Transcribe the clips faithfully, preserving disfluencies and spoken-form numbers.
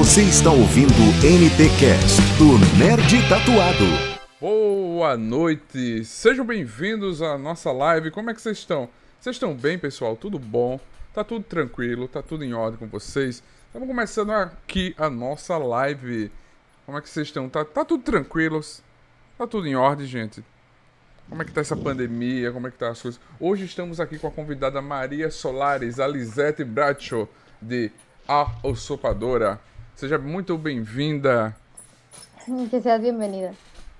Você está ouvindo o N T Cast do Nerd Tatuado. Boa noite, sejam bem-vindos à nossa live. Como é que vocês estão? Vocês estão bem, pessoal? Tudo bom? Tá tudo tranquilo? Tá tudo em ordem com vocês? Estamos começando aqui a nossa live. Como é que vocês estão? Tá, tá tudo tranquilo? Tá tudo em ordem, gente? Como é que tá essa pandemia? Como é que tá as coisas? Hoje estamos aqui com a convidada Maria Solares, a Lisete Bracho, de A Usurpadora. Seja muito bem-vinda. Que seas bienvenida.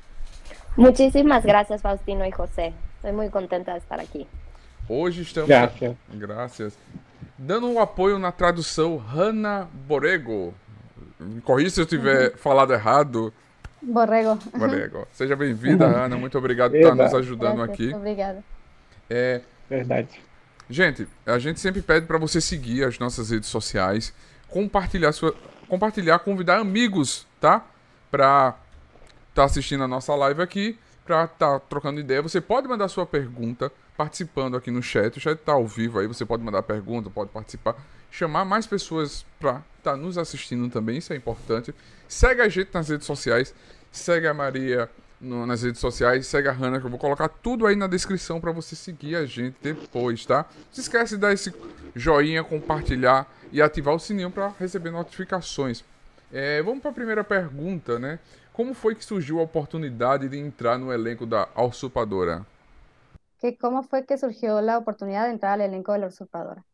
Muchísimas gracias, Faustino y José. Estoy muy contenta de estar aqui. Hoje estamos... Graças. Graças. Dando um apoio na tradução, Hanna Borrego. Me corrija se eu tiver falado errado. Borrego. Borrego. Seja bem-vinda, Hanna. Muito obrigado por estar nos Eba. ajudando Gracias, aqui. Obrigada. É, Verdade. gente, a gente sempre pede para você seguir as nossas redes sociais, compartilhar sua, compartilhar, convidar amigos, tá? Para estar assistindo a nossa live aqui, para estar trocando ideia. Você pode mandar sua pergunta participando aqui no chat. O chat tá ao vivo aí, você pode mandar pergunta, pode participar, chamar mais pessoas para estar nos assistindo também, isso é importante. Segue a gente nas redes sociais, segue a Maria no- nas redes sociais, segue a Hanna, que eu vou colocar tudo aí na descrição para você seguir a gente depois, tá? Não se esquece de dar esse joinha, compartilhar e ativar o sininho para receber notificações. É, vamos para a primeira pergunta, né? Como foi que surgiu a oportunidade de entrar no elenco da A Usurpadora? ¿Qué, ¿Cómo fue que surgió la oportunidad de entrar al elenco de La Usurpadora?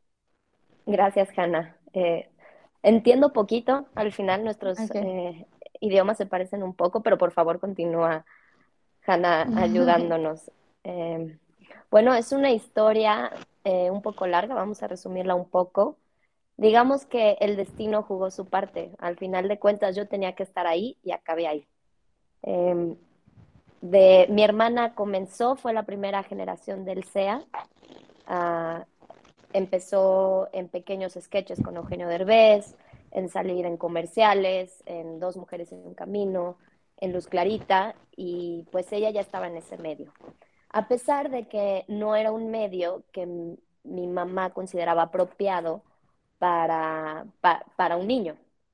Gracias, Hanna. Eh, entiendo poquito, al final nuestros Ok. eh, idiomas se parecen un poco, pero por favor continúa, Hanna, ayudándonos. Eh, bueno, es una historia eh, un poco larga, vamos a resumirla un poco. Digamos que el destino jugó su parte. Al final de cuentas yo tenía que estar ahí y acabé ahí. Eh, de, mi hermana comenzó, fue la primera generación del C E A. Ah, empezó en pequeños sketches con Eugenio Derbez, en salir en comerciales, en Dos Mujeres en un Camino, en Luz Clarita, y pues ella ya estaba en ese medio. A pesar de que no era un medio que m- mi mamá consideraba apropiado para, pa- para un niño.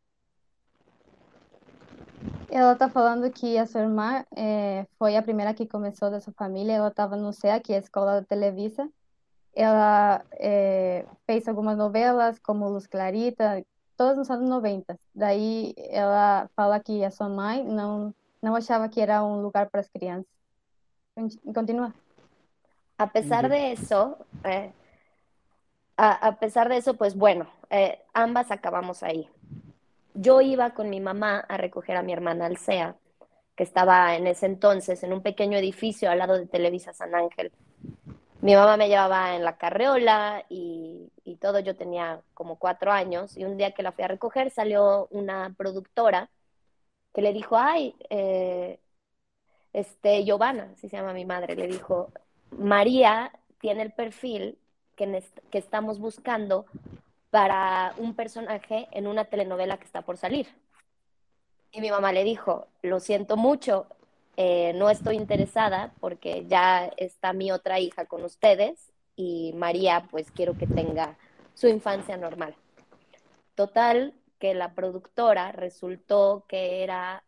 Ela tá falando que a sua irmã eh, foi a primeira que começou da sua família. Ela estava no C E A, que é a Escola da Televisa. Ela eh, fez algumas novelas, como Luz Clarita, todas nos anos noventa. Daí ela fala que a sua mãe não, não achava que era um lugar para as crianças. Con- Continua. A pesar de eso, eh, a, a pesar de eso, pues bueno, eh, ambas acabamos ahí. Yo iba con mi mamá a recoger a mi hermana al C E A, que estaba en ese entonces en un pequeño edificio al lado de Televisa San Ángel. Mi mamá me llevaba en la carreola y, y todo, yo tenía como cuatro años y un día que la fui a recoger salió una productora que le dijo, ay, eh, este, Giovanna, así se llama mi madre, le dijo, María tiene el perfil que, nes- que estamos buscando para un personaje en una telenovela que está por salir. Y mi mamá le dijo, lo siento mucho, eh, no estoy interesada porque ya está mi otra hija con ustedes y María pues quiero que tenga su infancia normal. Total, que la productora resultó que era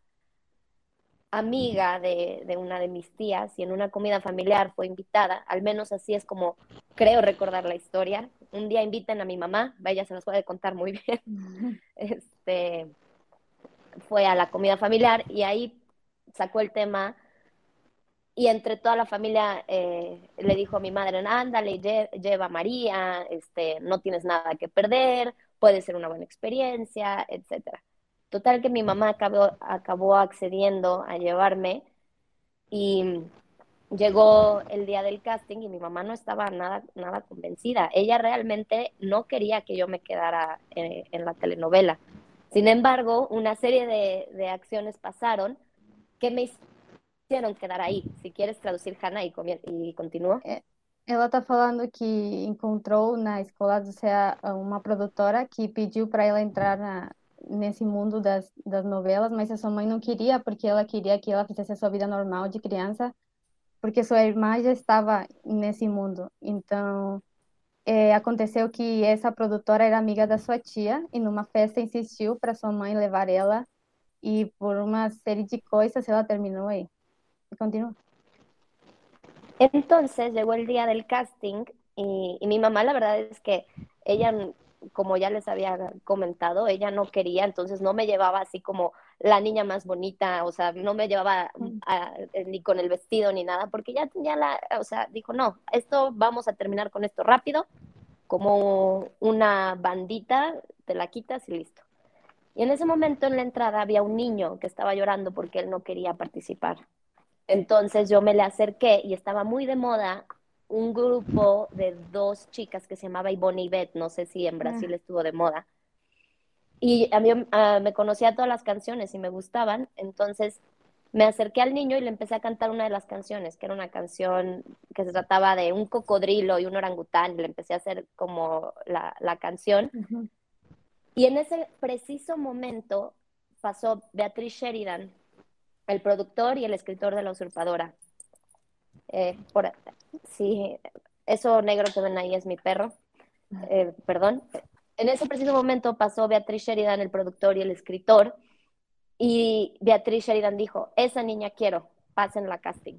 amiga de, de una de mis tías y en una comida familiar fue invitada, al menos así es como creo recordar la historia. Un día invitan a mi mamá, ella se las puede contar muy bien, este, fue a la comida familiar y ahí sacó el tema y entre toda la familia eh, le dijo a mi madre, ándale, lle- lleva a María, este, no tienes nada que perder, puede ser una buena experiencia, etcétera. Total que mi mamá acabó, acabó accediendo a llevarme y llegó el día del casting y mi mamá no estaba nada, nada convencida. Ella realmente no quería que yo me quedara eh, en la telenovela. Sin embargo, una serie de, de acciones pasaron que me hicieron quedar ahí. Si quieres traducir, Hannah, y, comien- y continúo. É, Ela tá falando que encontrou na escola do C E A uma produtora que pediu para ela entrar na, nesse mundo das, das novelas, mas a sua mãe não queria, porque ela queria que ela fizesse a sua vida normal de criança, porque sua irmã já estava nesse mundo. Então, é, aconteceu que essa produtora era amiga da sua tia e numa festa insistiu para sua mãe levar ela e por uma série de coisas ela terminou aí. E continua. Entonces llegó el día del casting y, y mi mamá la verdad es que ella, como ya les había comentado, ella no quería, entonces no me llevaba así como la niña más bonita, o sea, no me llevaba a, ni con el vestido ni nada, porque ya tenía la, o sea, dijo, no, esto vamos a terminar con esto rápido, como una bandita, te la quitas y listo. Y en ese momento en la entrada había un niño que estaba llorando porque él no quería participar. Entonces yo me le acerqué y estaba muy de moda un grupo de dos chicas que se llamaba Ivonne y Beth, no sé si en Brasil Ah, estuvo de moda. Y a mí uh, me conocía todas las canciones y me gustaban, entonces me acerqué al niño y le empecé a cantar una de las canciones, que era una canción que se trataba de un cocodrilo y un orangután, y le empecé a hacer como la, la canción. ujú. Y en ese preciso momento pasó Beatriz Sheridan, el productor y el escritor de La Usurpadora. Eh, por, sí, eso negro que ven ahí es mi perro. Eh, perdón. En ese preciso momento pasó Beatriz Sheridan, el productor y el escritor, y Beatriz Sheridan dijo, esa niña quiero, pasen la casting.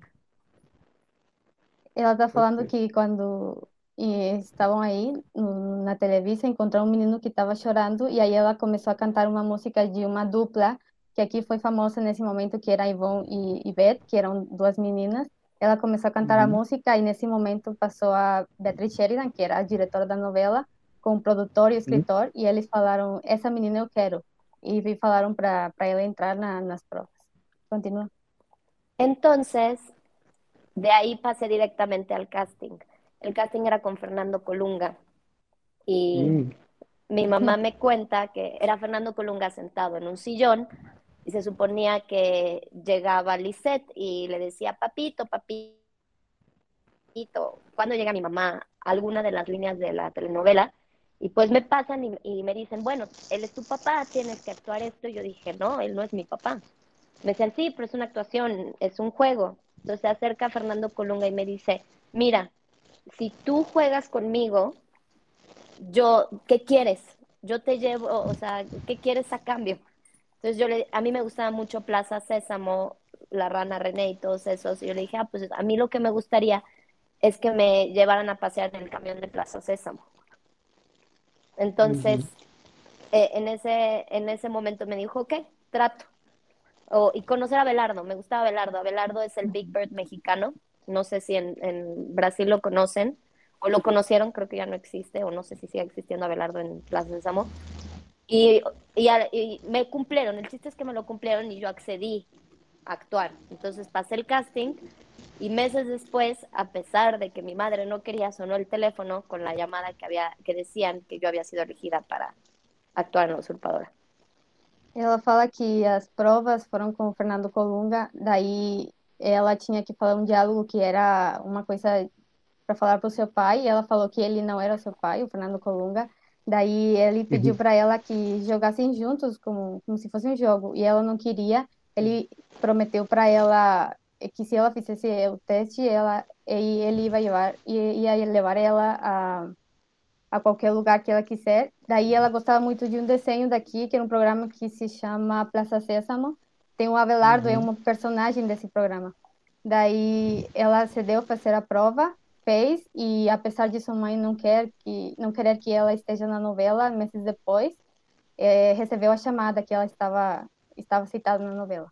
Ela tá falando Perfeito. que quando e estavam aí no- na televisão, encontraram um menino que estava chorando e aí ela começou a cantar uma música de uma dupla que aqui foi famosa nesse momento, que era a Ivonne e, e Beth, que eram duas meninas. Ela começou a cantar a Uhum. música e nesse momento passou a Beatriz Sheridan, que era a diretora da novela, com o produtor e o Sim. escritor, e eles falaram, essa menina eu quero. E falaram para para ela entrar na, nas provas. Continua. Entonces, de ahí pasé directamente al casting. El casting era con Fernando Colunga y Hum. mi mamá me cuenta que era Fernando Colunga sentado en un sillón y se suponía que llegaba Lisette y le decía, papito, papito, ¿cuándo llega mi mamá? Alguna de las líneas de la telenovela. Y pues me pasan y, y me dicen, bueno, él es tu papá, tienes que actuar esto. Y yo dije, no, él no es mi papá. Me decían, sí, pero es una actuación, es un juego. Entonces se acerca Fernando Colunga y me dice, mira, si tú juegas conmigo, yo, ¿qué quieres? Yo te llevo, o sea, ¿qué quieres a cambio? Entonces yo le, a mí me gustaba mucho Plaza Sésamo, La Rana René y todos esos. Y yo le dije, ah, pues a mí lo que me gustaría es que me llevaran a pasear en el camión de Plaza Sésamo. Entonces, Uhum. eh, en ese, en ese momento me dijo, ok, trato. O, y conocer a Abelardo, me gustaba Abelardo. Abelardo es el Big Bird mexicano. No sé si en, en Brasil lo conocen o lo conocieron, creo que ya no existe, o no sé si sigue existiendo Abelardo en Plaza Sésamo. Y, y, y me cumplieron, el chiste es que me lo cumplieron y yo accedí a actuar. Entonces pasé el casting y meses después, a pesar de que mi madre no quería, sonó el teléfono con la llamada que, había, que decían que yo había sido elegida para actuar en La Usurpadora. Ela fala que as provas foram com o Fernando Colunga, daí ela tinha que falar um diálogo que era uma coisa para falar para o seu pai, e ela falou que ele não era o seu pai, o Fernando Colunga. Daí ele pediu Uhum. para ela que jogassem juntos, como, como se fosse um jogo, e ela não queria. Ele prometeu para ela que se ela fizesse o teste, ela, e ele ia levar, ia, ia levar ela a a qualquer lugar que ela quiser. Daí ela gostava muito de um desenho daqui, que era um programa que se chama Plaza Sésamo. Tem o Abelardo, é Uhum. um personagem desse programa. Daí ela cedeu para fazer a prova, fez, e apesar de sua mãe não quer que não querer que ela esteja na novela, meses depois, eh, recebeu a chamada que ela estava estava citada na novela.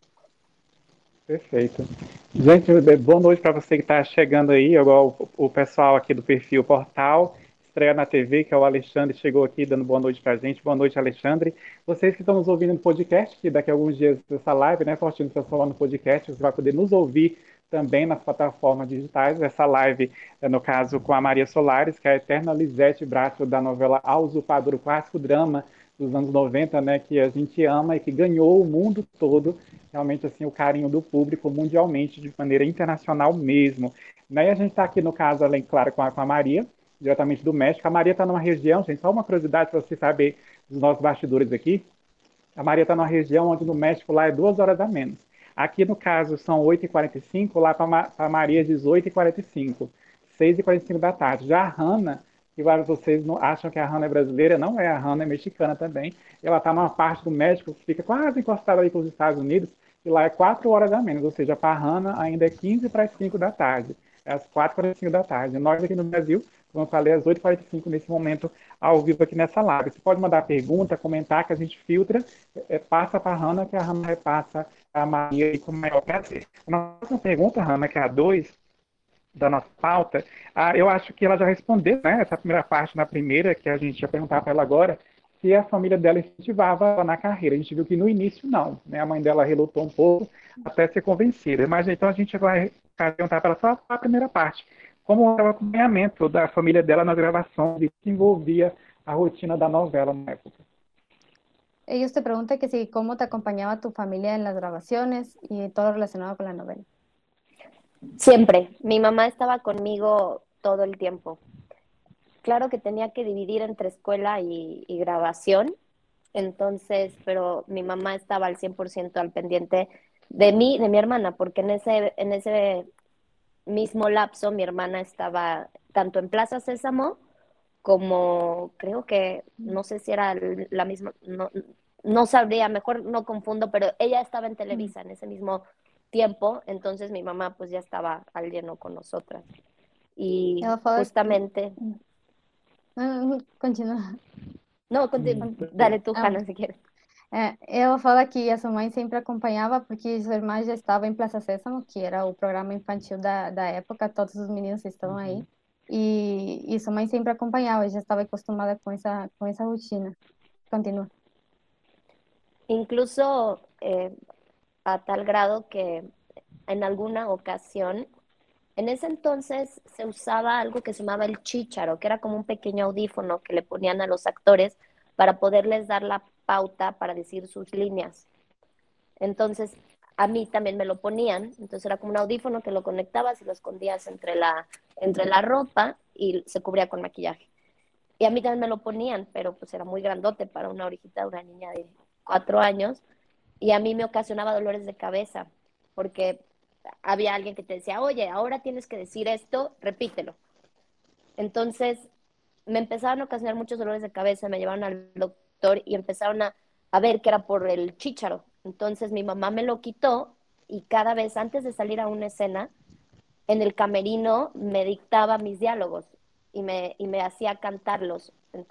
Perfeito. Gente, boa noite para você que está chegando aí, igual o, o pessoal aqui do perfil Portal, estreia na T V, que é o Alexandre, chegou aqui dando boa noite para a gente. Boa noite, Alexandre. Vocês que estão nos ouvindo no podcast, que daqui a alguns dias dessa live, né, Fortino, transformar no podcast, você vai poder nos ouvir também nas plataformas digitais. Essa live, é, no caso, com a Maria Solares, que é a eterna Lisete Bracho da novela A Usurpadora, o clássico drama dos anos noventa, né, que a gente ama e que ganhou o mundo todo, realmente assim o carinho do público mundialmente, de maneira internacional mesmo. Né? E a gente está aqui no caso, além, claro, com a, com a Maria, diretamente do México. A Maria está numa região, gente, só uma curiosidade para você saber dos nossos bastidores aqui. A Maria está numa região onde no México lá é duas horas a menos. Aqui, no caso, são oito e quarenta e cinco, lá para a Maria, dezoito e quarenta e cinco, seis e quarenta e cinco da tarde. Já a Hanna que vários de vocês não acham que a Hannah é brasileira, não é, a Hannah é mexicana também. Ela está numa parte do México que fica quase encostada ali com os Estados Unidos, e lá é quatro horas a menos, ou seja, para a Hannah ainda é quinze para as cinco da tarde, é às quatro e quarenta e cinco da tarde. Nós aqui no Brasil, como eu falei, às oito e quarenta e cinco nesse momento, ao vivo aqui nessa live. Você pode mandar pergunta, comentar, que a gente filtra, é, passa para a Hannah, que a Hannah repassa a Maria e com o maior prazer. A nossa pergunta, Hannah, que é a dois da nossa pauta, ah, eu acho que ela já respondeu, né, essa primeira parte na primeira, que a gente ia perguntar para ela agora, se a família dela incentivava ela na carreira. A gente viu que no início não, né, a mãe dela relutou um pouco até ser convencida. Mas então a gente vai perguntar para ela só a primeira parte. Como era o acompanhamento da família dela nas gravações e que envolvia a rotina da novela na época? Ellos te preguntan que si cómo te acompañaba tu familia en las grabaciones y todo lo relacionado con la novela. Siempre. Mi mamá estaba conmigo todo el tiempo. Claro que tenía que dividir entre escuela y, y grabación, entonces, pero mi mamá estaba al cien por ciento al pendiente de mí, de mi hermana, porque en ese, en ese mismo lapso mi hermana estaba tanto en Plaza Sésamo como creo que, no sé si era la misma, no, no sabría, mejor no confundo, pero ella estaba en Televisa en ese mismo tiempo, entonces mi mamá pues ya estaba al lleno con nosotras. Y Ela fala justamente... Ah, continua. No, continua, dale tú, Ah, Hannah, si quieres. é, ela fala que a sua mãe sempre acompanhava porque sua irmã já estava em Plaza Sésamo, que era o programa infantil da, da época, todos os meninos estão aí. E, e sua mãe sempre acompanhava, já estava acostumada com essa, com essa rotina. Continua. Incluso eh, a tal grado que en alguna ocasión, en ese entonces se usaba algo que se llamaba el chícharo, que era como un pequeño audífono que le ponían a los actores para poderles dar la pauta para decir sus líneas. Entonces, a mí también me lo ponían, entonces era como un audífono que lo conectabas y lo escondías entre la, entre la ropa y se cubría con maquillaje. Y a mí también me lo ponían, pero pues era muy grandote para una orejita, una niña de cuatro años, y a mí me ocasionaba dolores de cabeza, porque había alguien que te decía, oye, ahora tienes que decir esto, repítelo. Entonces me empezaron a ocasionar muchos dolores de cabeza, me llevaron al doctor y empezaron a, a ver que era por el chícharo. Entonces mi mamá me lo quitó y cada vez antes de salir a una escena, en el camerino me dictaba mis diálogos y me, y me hacía cantarlos.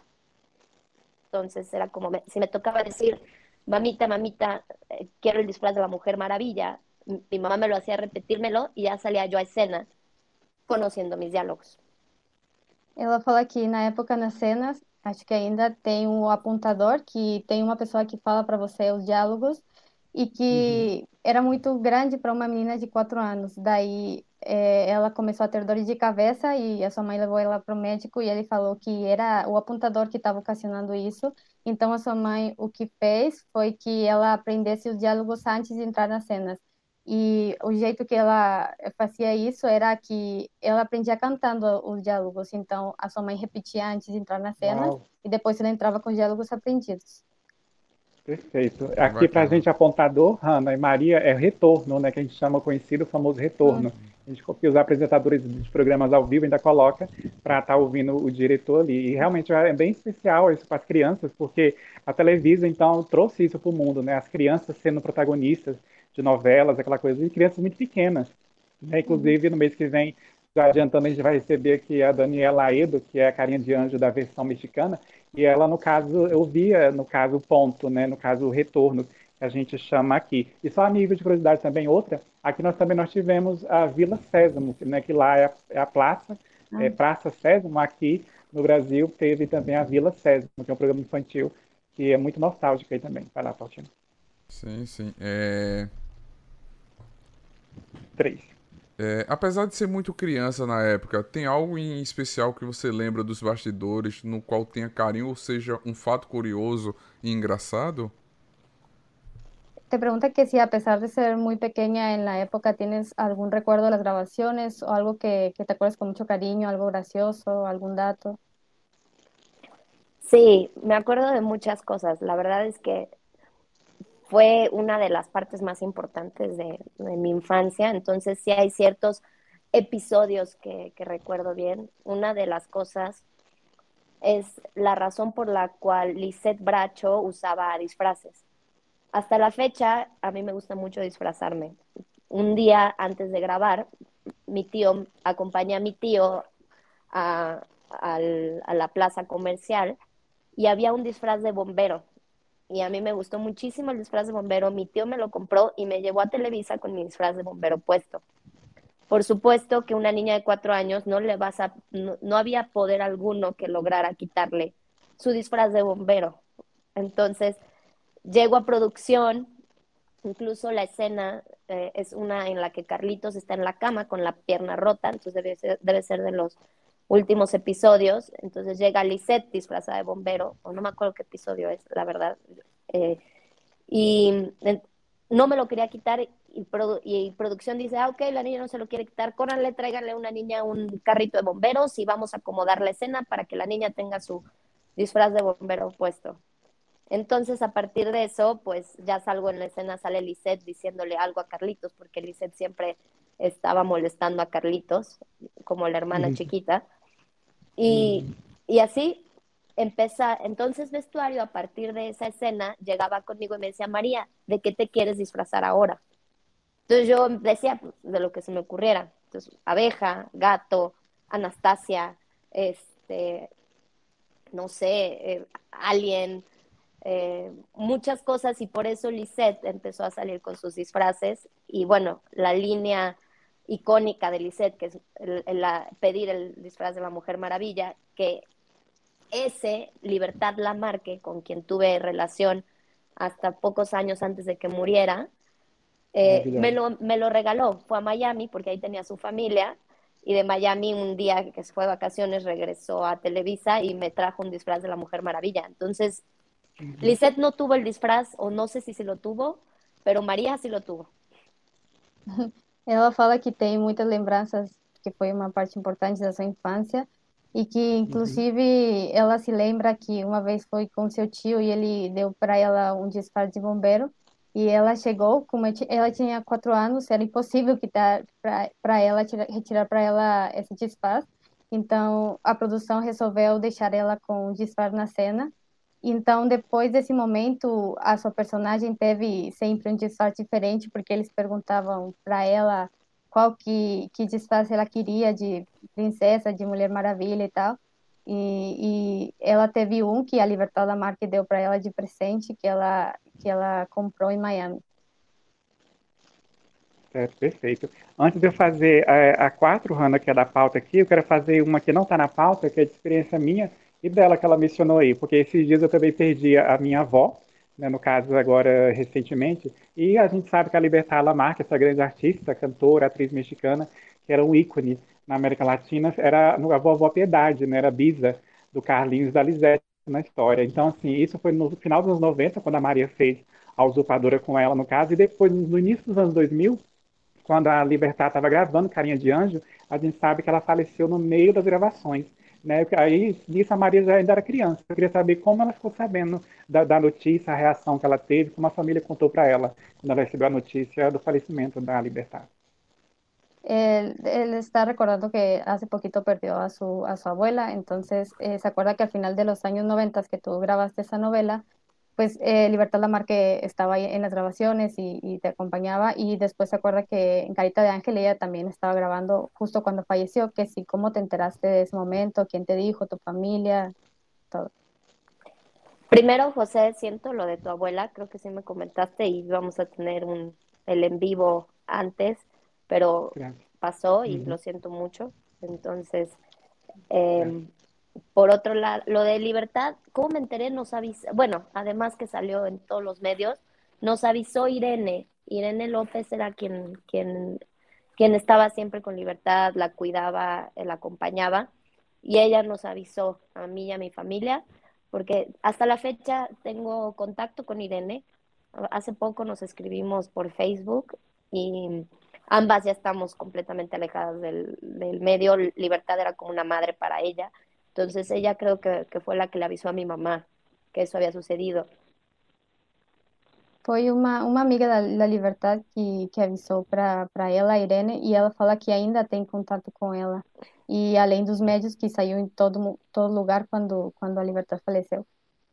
Entonces era como, me, si me tocaba decir, mamita, mamita, eh, quiero el disfraz de la Mujer Maravilla, mi mamá me lo hacía repetírmelo y ya salía yo a escena conociendo mis diálogos. Ela fala que na época nas cenas, acho que ainda tem um apontador, que tem uma pessoa que fala para você os diálogos, e que uhum. era muito grande para uma menina de quatro anos. Daí é, ela começou a ter dores de cabeça e a sua mãe levou ela para o médico e ele falou que era o apontador que estava ocasionando isso. Então a sua mãe o que fez foi que ela aprendesse os diálogos antes de entrar nas cenas. E o jeito que ela fazia isso era que ela aprendia cantando os diálogos. Então, a sua mãe repetia antes de entrar na cena Uau. E depois ela entrava com os diálogos aprendidos. Perfeito. Aqui para a gente, apontador, Hannah e Maria, é retorno, né, que a gente chama conhecido, o famoso retorno. Hum. A gente copia os apresentadores dos programas ao vivo, ainda coloca para estar tá ouvindo o diretor ali. E realmente é bem especial isso para as crianças, porque a Televisa, então, trouxe isso para o mundo, né? As crianças sendo protagonistas de novelas, aquela coisa, e crianças muito pequenas. Né? Inclusive, no mês que vem, já adiantando, a gente vai receber aqui a Daniela Aedo, que é a carinha de anjo da versão mexicana, e ela, no caso, eu via, no caso, o ponto, né? No caso, o retorno, que a gente chama aqui. E só a nível de curiosidade também, outra, aqui nós também nós tivemos a Vila Sésamo, né? Que lá é a, é a praça, ah. é Praça Sésamo, aqui no Brasil teve também a Vila Sésamo, que é um programa infantil que é muito nostálgico aí também. Vai lá, Faustino. Sim, sim. É... Três. É, apesar de ser muito criança na época, tem algo em especial que você lembra dos bastidores, no qual tenha carinho, ou seja, um fato curioso e engraçado? Te pregunta que si a pesar de ser muy pequeña en la época tienes algún recuerdo de las grabaciones o algo que, que te acuerdas con mucho cariño, algo gracioso, algún dato. Sí, me acuerdo de muchas cosas. La verdad es que fue una de las partes más importantes de, de mi infancia, entonces sí hay ciertos episodios que, que recuerdo bien. Una de las cosas es la razón por la cual Lisette Bracho usaba disfraces. Hasta la fecha, a mí me gusta mucho disfrazarme. Un día antes de grabar, mi tío, acompañé a mi tío a, a, a la plaza comercial y había un disfraz de bombero. Y a mí me gustó muchísimo el disfraz de bombero. Mi tío me lo compró y me llevó a Televisa con mi disfraz de bombero puesto. Por supuesto que una niña de cuatro años no le vas a, no, no había poder alguno que lograra quitarle su disfraz de bombero. Entonces, llego a producción, incluso la escena eh, es una en la que Carlitos está en la cama con la pierna rota, entonces debe ser, debe ser de los últimos episodios. Entonces llega Lisette disfrazada de bombero, o no me acuerdo qué episodio es, la verdad, eh, y eh, no me lo quería quitar y, produ y, producción dice, ah, ok, la niña no se lo quiere quitar, córranle, tráiganle a una niña un carrito de bomberos y vamos a acomodar la escena para que la niña tenga su disfraz de bombero puesto. Entonces, a partir de eso, pues ya salgo en la escena, sale Lisette diciéndole algo a Carlitos, porque Lisette siempre estaba molestando a Carlitos, como la hermana Uhum. chiquita. Y, Uhum. y así empieza, entonces vestuario, a partir de esa escena, llegaba conmigo y me decía, María, ¿de qué te quieres disfrazar ahora? Entonces yo decía pues, de lo que se me ocurriera. Entonces, abeja, gato, Anastasia, este, no sé, eh, alien, eh, muchas cosas, y por eso Lisette empezó a salir con sus disfraces. Y bueno, la línea icónica de Lisette, que es el, el, la, pedir el disfraz de la Mujer Maravilla, que ese Libertad Lamarque, con quien tuve relación hasta pocos años antes de que muriera, eh, me, lo, me lo regaló. Fue a Miami porque ahí tenía su familia, y de Miami un día que se fue de vacaciones regresó a Televisa y me trajo un disfraz de la Mujer Maravilla. Entonces, Uhum. Lisette no tuvo el disfraz, o no sé si se lo tuvo, pero María sí lo tuvo. Ela fala que tem muitas lembranças, que foi uma parte importante da sua infância, e que, Uhum. inclusive, ela se lembra que uma vez foi com seu tio e ele deu para ela um disfarce de bombeiro, e ela chegou, como ela tinha quatro anos, era impossível quitar para ela, tirar, retirar para ela esse disfarce. Então, a produção resolveu deixar ela com o disfarce na cena. Então, depois desse momento, a sua personagem teve sempre um disfarce diferente, porque eles perguntavam para ela qual que, que disfarce ela queria, de princesa, de Mulher Maravilha e tal. E, e ela teve um que a Libertad Lamarque deu para ela de presente, que ela, que ela comprou em Miami. Certo, perfeito. Antes de eu fazer a, a quatro, Hanna, que é da pauta aqui, eu quero fazer uma que não está na pauta, que é de experiência minha e dela que ela mencionou aí, porque esses dias eu também perdi a minha avó, né, no caso agora recentemente, e a gente sabe que a Libertad Lamarque, essa grande artista, cantora, atriz mexicana, que era um ícone na América Latina, era a vovó Piedade, né, era bisa do Carlinhos da Lisete na história. Então, assim, isso foi no final dos anos noventa, quando a Maria fez a Usurpadora com ela, no caso, e depois, no início dos anos dois mil, quando a Libertad estava gravando Carinha de Anjo, a gente sabe que ela faleceu no meio das gravações. Né? Aí, nisso, a Maria já ainda era criança. Eu queria saber como ela ficou sabendo da, da notícia, a reação que ela teve, como a família contou para ela quando ela recebeu a notícia do falecimento da Libertad. Él, él está recordando que hace poquito perdió a su, a su abuela, entonces eh, se acuerda que al final de los años noventas que tú grabaste esa novela, pues eh, Libertad Lamarque estaba ahí en las grabaciones y, y te acompañaba, y después se acuerda que en Carita de Ángel ella también estaba grabando justo cuando falleció, que sí, ¿cómo te enteraste de ese momento? ¿Quién te dijo? ¿Tu familia? Todo. Primero, José, siento lo de tu abuela, creo que sí me comentaste y íbamos a tener un, el en vivo antes, pero Gracias. pasó y Uhum. lo siento mucho. Entonces, eh, Gracias. por otro lado, lo de Libertad, ¿cómo me enteré? Nos avisó, bueno, además que salió en todos los medios, nos avisó Irene. Irene López era quien, quien, quien estaba siempre con Libertad, la cuidaba, la acompañaba, y ella nos avisó a mí y a mi familia, porque hasta la fecha tengo contacto con Irene. Hace poco nos escribimos por Facebook y ambas ya estamos completamente alejadas del, del medio. Libertad era como una madre para ella. Entonces ella creo que, que fue la que le avisó a mi mamá que eso había sucedido. Foi uma, uma amiga da, da Libertad que, que avisou para para ela, a Irene, e ela fala que ainda tem contato com ela. E além dos médios que saiu em todo, mu- todo lugar quando, quando a Libertad faleceu.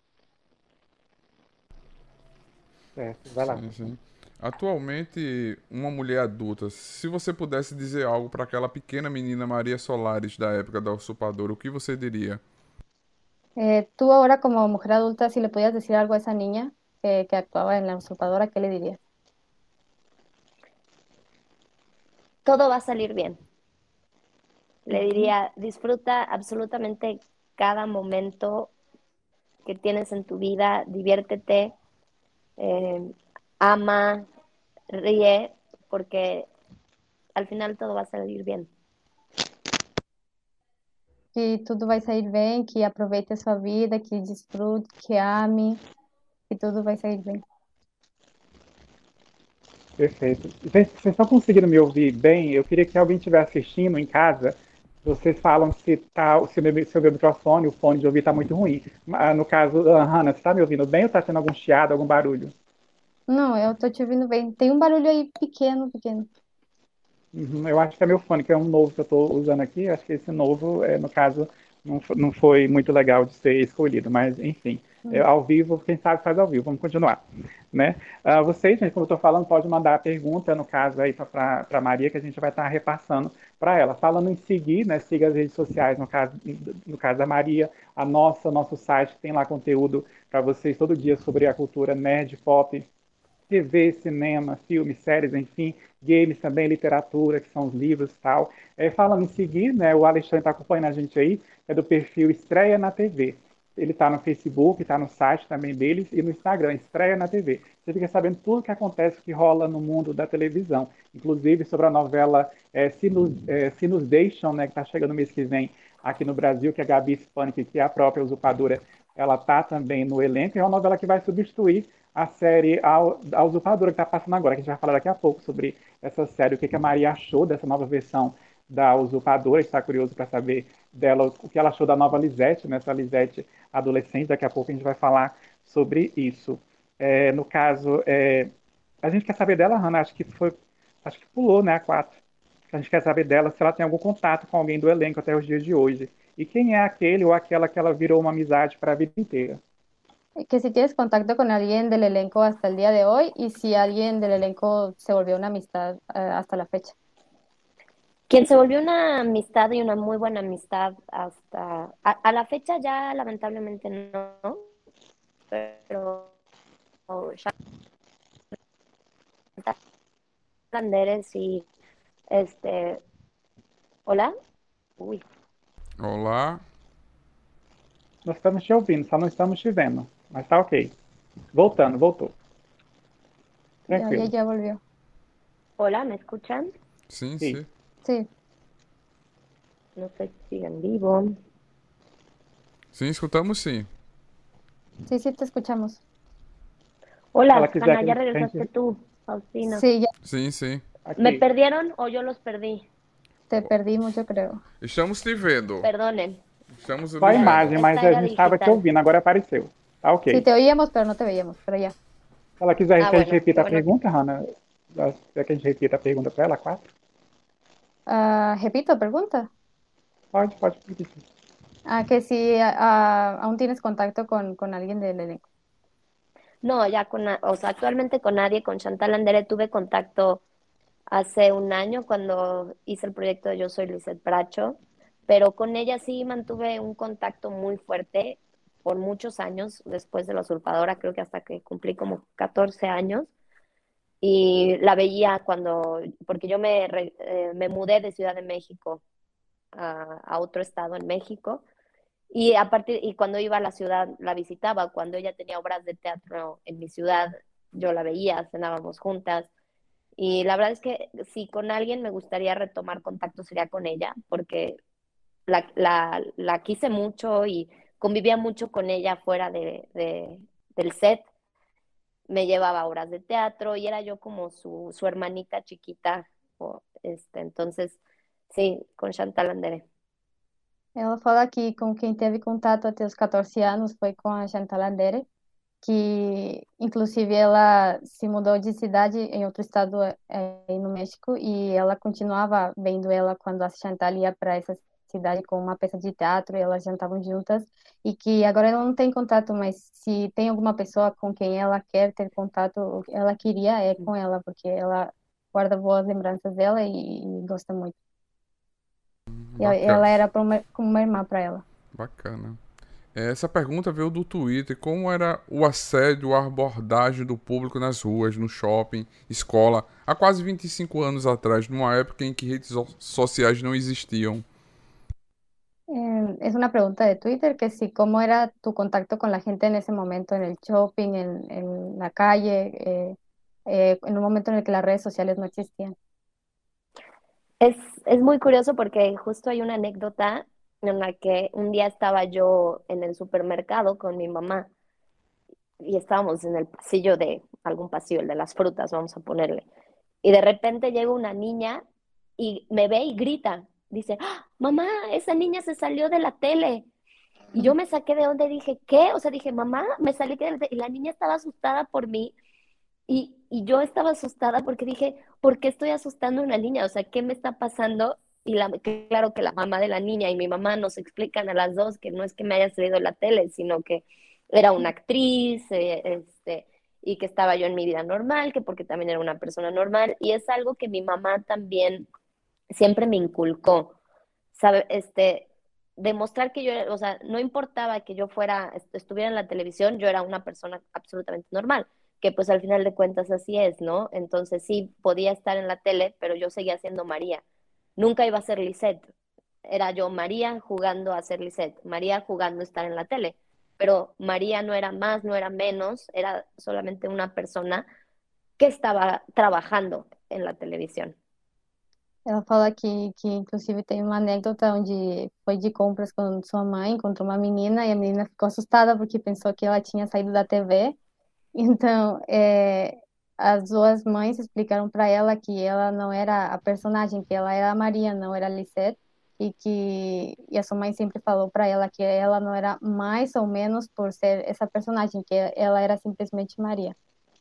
Certo, vai lá. Sim, sim. Atualmente, uma mulher adulta, se você pudesse dizer algo para aquela pequena menina Maria Solares da época da usurpadora, o que você diria? Eh, tú ahora como mujer adulta, si le podías decir algo a esa niña que, que actuaba en La Usurpadora, ¿qué le dirías? Todo va a salir bien. Le Ujú. diría, disfruta absolutamente cada momento que tienes en tu vida, diviértete, eh, ama, ríe, porque al final todo va a salir bien. Que tudo vai sair bem, que aproveite a sua vida, que desfrute, que ame, que tudo vai sair bem. Perfeito. Gente, vocês estão conseguindo me ouvir bem? Eu queria que alguém estiver assistindo em casa. Vocês falam se, tá, se, o meu, se o meu microfone, o fone de ouvir está muito ruim. Ah, no caso, ah, Hannah, você está me ouvindo bem ou está tendo algum chiado, algum barulho? Não, eu tô te ouvindo bem. Tem um barulho aí pequeno, pequeno. Uhum, eu acho que é meu fone, que é um novo que eu estou usando aqui. Acho que esse novo, é, no caso, não, fo- não foi muito legal de ser escolhido, mas enfim, é, Hum. ao vivo, quem sabe faz ao vivo. Vamos continuar, né? Ah, vocês, gente, como eu estou falando, pode mandar a pergunta, no caso aí para a Maria, que a gente vai estar repassando para ela. Falando em seguir, né? Siga as redes sociais, no caso, no caso da Maria, a nossa, nosso site, que tem lá conteúdo para vocês todo dia sobre a cultura nerd, pop, T V, cinema, filmes, séries, enfim, games também, literatura, que são os livros e tal. É, falando em seguir, né, o Alexandre está acompanhando a gente aí, é do perfil Estreia na T V. Ele está no Facebook, está no site também deles e no Instagram, Estreia na T V. Você fica sabendo tudo o que acontece, que rola no mundo da televisão, inclusive sobre a novela é, Se, Nos, é, Se Nos Deixam, né, que está chegando no mês que vem aqui no Brasil, que é a Gabi Spanik, que é a própria usurpadora, ela está também no elenco. É uma novela que vai substituir a série A, a Usurpadora, que está passando agora, que a gente vai falar daqui a pouco sobre essa série, o que, que a Maria achou dessa nova versão da Usurpadora, está curioso para saber dela o que ela achou da nova Lisette, né, essa Lisette adolescente, daqui a pouco a gente vai falar sobre isso. É, no caso, é, a gente quer saber dela, Hannah, acho que foi, acho que pulou, né, a quatro. A gente quer saber dela se ela tem algum contato com alguém do elenco até os dias de hoje. E quem é aquele ou aquela que ela virou uma amizade para a vida inteira. Que si tienes contacto con alguien del elenco hasta el día de hoy y si alguien del elenco se volvió una amistad eh, hasta la fecha. Quien se volvió una amistad y una muy buena amistad hasta a, a la fecha ya lamentablemente no, pero Chantal Landeres y este, hola, uy, Olá. Nós estamos te ouvindo, só não estamos te vendo. Mas tá ok. Voltando, voltou. Ya, ya, Tranquilo. ya volvió. hola, ¿me escuchan? Sim, Sim. sim. Sí, No sé si siguen vivo. Sim, escutamos sim. sí, sí, te escuchamos. Se ela Hola, quiser Hanna, que a ya gente. que a regresaste gente- tú, Faustina. Sí, ya Sim, sim. ¿Me Ok. perdieron o yo los perdí? te perdimos, yo creo. Estamos te vendo. Perdonen, Estamos Só a lhe vendo. imagem, mas esta a era gente estava te digital. ouvindo, agora apareceu. Tá Sí, ok. te oíamos, pero no te veíamos, pero ya. Se ela quiser Ah, que a gente bueno, qué repita a bueno. pergunta, Hannah, quer que a gente repita a pergunta para ela, quatro? Ah, repito, pregunta. Pode, pode repetir. Ah, que si ah, aún tienes contacto con, con alguien del elenco. No, ya con, na- o sea, actualmente con nadie, con Chantal Andere tuve contacto hace un año cuando hice el proyecto de Yo Soy Lizeth Bracho, pero con ella sí mantuve un contacto muy fuerte por muchos años después de La Usurpadora, creo que hasta que cumplí como catorce años, y la veía cuando, porque yo me, re- eh, me mudé de Ciudad de México a, a otro estado en México, y a partir, y cuando iba a la ciudad la visitaba, cuando ella tenía obras de teatro en mi ciudad, yo la veía, cenábamos juntas. Y la verdad es que si con alguien me gustaría retomar contacto sería con ella, porque la, la, la quise mucho y convivía mucho con ella fuera de, de, del set. Me llevaba a obras de teatro y era yo como su, su hermanita chiquita. O, este, entonces, sí, con Chantal Andere. Ela fala que com quem teve contato até os catorze anos foi com a Chantal Andere. que inclusive ela se mudou de cidade em outro estado eh, aí no México e ela continuava vendo ela quando a Chantal ia para essa cidade com uma peça de teatro e elas jantavam juntas e que agora ela não tem contato, mas se tem alguma pessoa com quem ela quer ter contato, o que ela queria é com ela, porque ela guarda boas lembranças dela e, e gosta muito. E ela Bacana. ela era pra uma- como uma irmã para ela. Bacana. Essa pergunta veio do Twitter. Como era o assédio, a abordagem do público nas ruas, no shopping, escola, há quase vinte e cinco anos atrás, numa época em que redes so- sociais não existiam? Eh, es una pregunta de Twitter que si cómo era tu contacto con la gente en ese momento, en el shopping, en, en la calle, eh, eh, en un momento en el que las redes sociales no existían. Es, es muy curioso porque justo hay una anécdota en la que un día estaba yo en el supermercado con mi mamá y estábamos en el pasillo de algún pasillo, el de las frutas, vamos a ponerle. Y de repente llega una niña y me ve y grita. Dice, ¡Ah, mamá, esa niña se salió de la tele. Y yo me saqué de donde dije, ¿qué? O sea, dije, mamá, me salí de la tele. Y la niña estaba asustada por mí. Y, y yo estaba asustada porque dije, ¿por qué estoy asustando a una niña? O sea, ¿qué me está pasando? Y la, claro que la mamá de la niña y mi mamá nos explican a las dos que no es que me haya salido de la tele, sino que era una actriz, eh, este, y que estaba yo en mi vida normal, que porque también era una persona normal. Y es algo que mi mamá también siempre me inculcó, ¿sabe? Este, demostrar que yo, era- o sea, no importaba que yo fuera, est- estuviera en la televisión, yo era una persona absolutamente normal, que pues al final de cuentas así es, ¿no? Entonces sí, podía estar en la tele, pero yo seguía siendo María. Nunca iba a ser Lisette. Era yo María jugando a ser Lisette, María jugando a estar en la tele. Pero María no era más, no era menos, era solamente una persona que estava trabajando en la televisión. Ela fala que, que inclusive tem uma anécdota onde foi de compras com sua mãe, encontrou uma menina e a menina ficou assustada porque pensou que ela tinha saído da T V. Então, é, as duas mães explicaram para ela que ela não era a personagem, que ela era a Maria, não era a Lisette, e que e a sua mãe sempre falou para ela que ela não era mais ou menos por ser essa personagem, que ela era simplesmente Maria.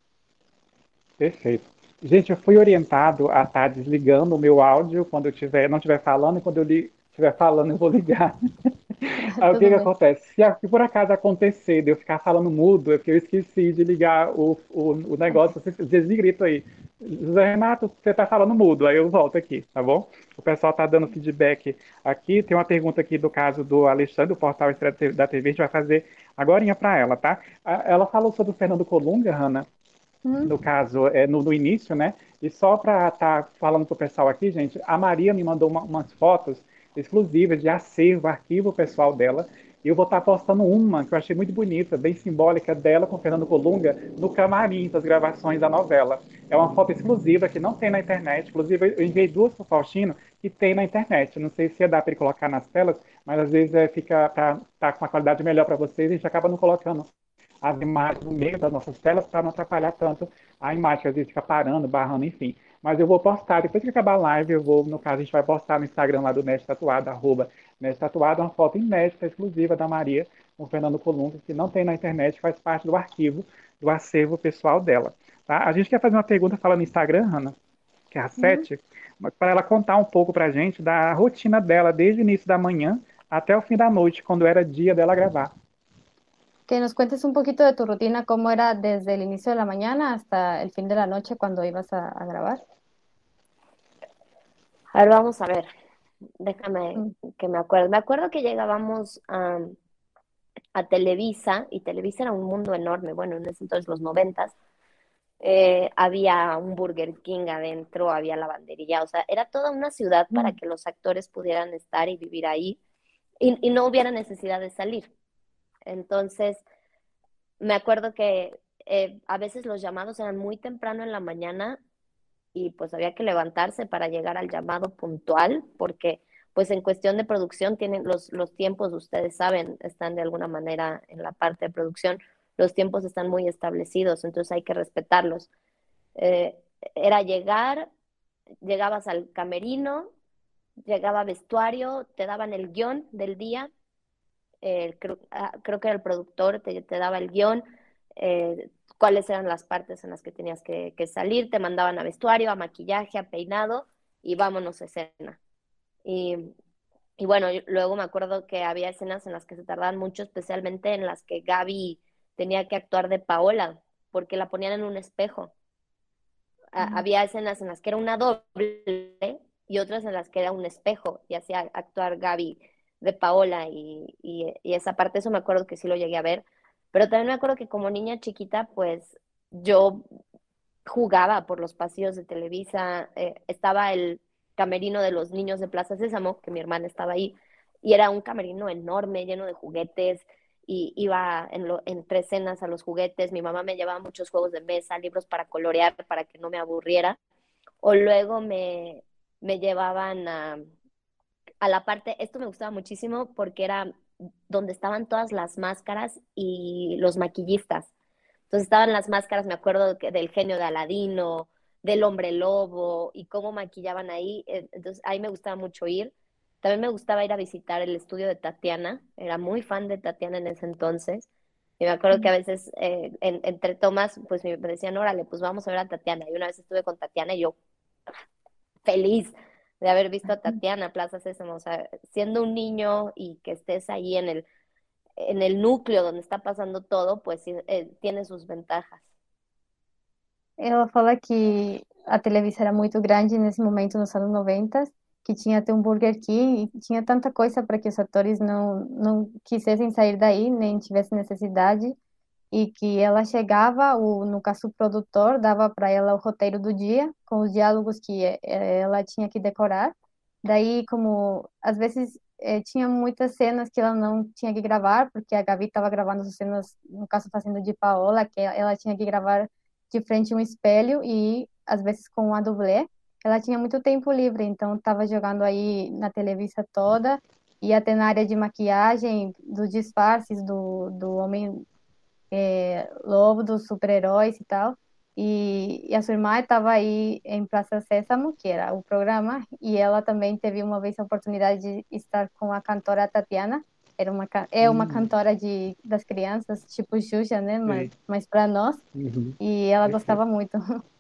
Perfeito. Gente, eu fui orientado a estar desligando o meu áudio quando eu tiver, não estiver falando, e quando eu estiver falando, eu vou ligar. Aí o que Tudo que bem. acontece? Se, a- se por acaso acontecer de eu ficar falando mudo, é porque eu esqueci de ligar o, o, o negócio, vocês desgrito aí. José Renato, você está falando mudo, aí eu volto aqui, tá bom? O pessoal está dando feedback aqui. Tem uma pergunta aqui do caso do Alexandre, do portal Estreia da T V, a gente vai fazer agorinha para ela, tá? A- Ela falou sobre o Fernando Colunga, Hanna, Uhum. no caso, é, no, no início, né? E só para estar tá falando para o pessoal aqui, gente, a Maria me mandou uma, umas fotos exclusivas de acervo, arquivo pessoal dela. E eu vou estar tá postando uma que eu achei muito bonita, bem simbólica dela com o Fernando Colunga no camarim das gravações da novela. É uma foto exclusiva que não tem na internet. Inclusive, eu enviei duas para o Faustino que tem na internet. Não sei se ia dar para ele colocar nas telas, mas às vezes é, fica tá, tá com uma qualidade melhor para vocês e a gente acaba não colocando as imagens no meio das nossas telas para não atrapalhar tanto a imagem, que às vezes fica parando, barrando, enfim. Mas eu vou postar, depois que acabar a live, eu vou, no caso, a gente vai postar no Instagram lá do Nerd Tatuado, arroba Nerd Tatuado, uma foto inédita, exclusiva da Maria com o Fernando Colunga, que não tem na internet, faz parte do arquivo, do acervo pessoal dela. Tá? A gente quer fazer uma pergunta falando no Instagram, Hanna, que é a Uhum. Sete, para ela contar um pouco para a gente da rotina dela, desde o início da manhã até o fim da noite, quando era dia dela gravar. Que nos cuentes un poquito de tu rutina, cómo era desde el inicio de la mañana hasta el fin de la noche cuando ibas a, a grabar. A ver, vamos a ver, déjame Mm. que me acuerdo. Me acuerdo que llegábamos a, a Televisa y Televisa era un mundo enorme, bueno, en ese entonces los noventas. Eh, había un Burger King adentro, había lavandería, o sea, era toda una ciudad para Mm. que los actores pudieran estar y vivir ahí y, y no hubiera necesidad de salir. Entonces, me acuerdo que eh, a veces los llamados eran muy temprano en la mañana y pues había que levantarse para llegar al llamado puntual, porque pues en cuestión de producción tienen los, los tiempos, ustedes saben, están de alguna manera en la parte de producción, los tiempos están muy establecidos, entonces hay que respetarlos. Eh, Era llegar, llegabas al camerino, llegaba vestuario, te daban el guión del día, eh, creo, ah, creo que era el productor, te, te daba el guión, eh, cuáles eran las partes en las que tenías que, que salir, te mandaban a vestuario, a maquillaje, a peinado y vámonos a escena. Y, y bueno, luego me acuerdo que había escenas en las que se tardaban mucho, especialmente en las que Gaby tenía que actuar de Paola, porque la ponían en un espejo. A, había escenas en las que era una doble y otras en las que era un espejo y hacía actuar Gaby de Paola y, y, y esa parte, eso me acuerdo que sí lo llegué a ver, pero también me acuerdo que como niña chiquita, pues yo jugaba por los pasillos de Televisa, eh, estaba el camerino de los niños de Plaza Sésamo, que mi hermana estaba ahí, y era un camerino enorme, lleno de juguetes, y iba en lo, entre escenas a los juguetes, mi mamá me llevaba muchos juegos de mesa, libros para colorear, para que no me aburriera, o luego me, me llevaban a, a la parte, esto me gustaba muchísimo porque era donde estaban todas las máscaras y los maquillistas. Entonces estaban las máscaras, me acuerdo que del genio de Aladino, del hombre lobo y cómo maquillaban ahí. Entonces ahí me gustaba mucho ir. También me gustaba ir a visitar el estudio de Tatiana. Era muy fan de Tatiana en ese entonces. Y me acuerdo que a veces eh, en, entre tomas, pues me decían, órale, pues vamos a ver a Tatiana. Y una vez estuve con Tatiana y yo feliz de haber visto a Tatiana, Plaza Sésamo. O sea, siendo un niño y que estés ahí en el, en el núcleo donde está pasando todo, pues eh, tiene sus ventajas. Ela fala que a Televisa era muito grande nesse momento, nos anos noventa, que tinha até um Burger King e tinha tanta coisa para que os atores não, não quisessem sair daí, nem tivessem necessidade, e que ela chegava, o, no caso o produtor dava para ela o roteiro do dia, com os diálogos que eh, ela tinha que decorar. Daí, como às vezes eh, tinha muitas cenas que ela não tinha que gravar, porque a Gabi estava gravando as cenas, no caso fazendo de Paola, que ela tinha que gravar de frente a um espelho e às vezes com a dublê. Ela tinha muito tempo livre, então estava jogando aí na Televisa toda e até na área de maquiagem, dos disfarces do, do homem é, lobo, dos super-heróis e tal. E, e a sua irmã estava aí em Praça Sésamo, que era o programa, e ela também teve uma vez a oportunidade de estar com a cantora Tatiana. Era uma, é uma Hum, cantora de, das crianças, tipo Xuxa, né? Mas, sei. mas para nós. Uhum. E ela Perfeito. gostava muito.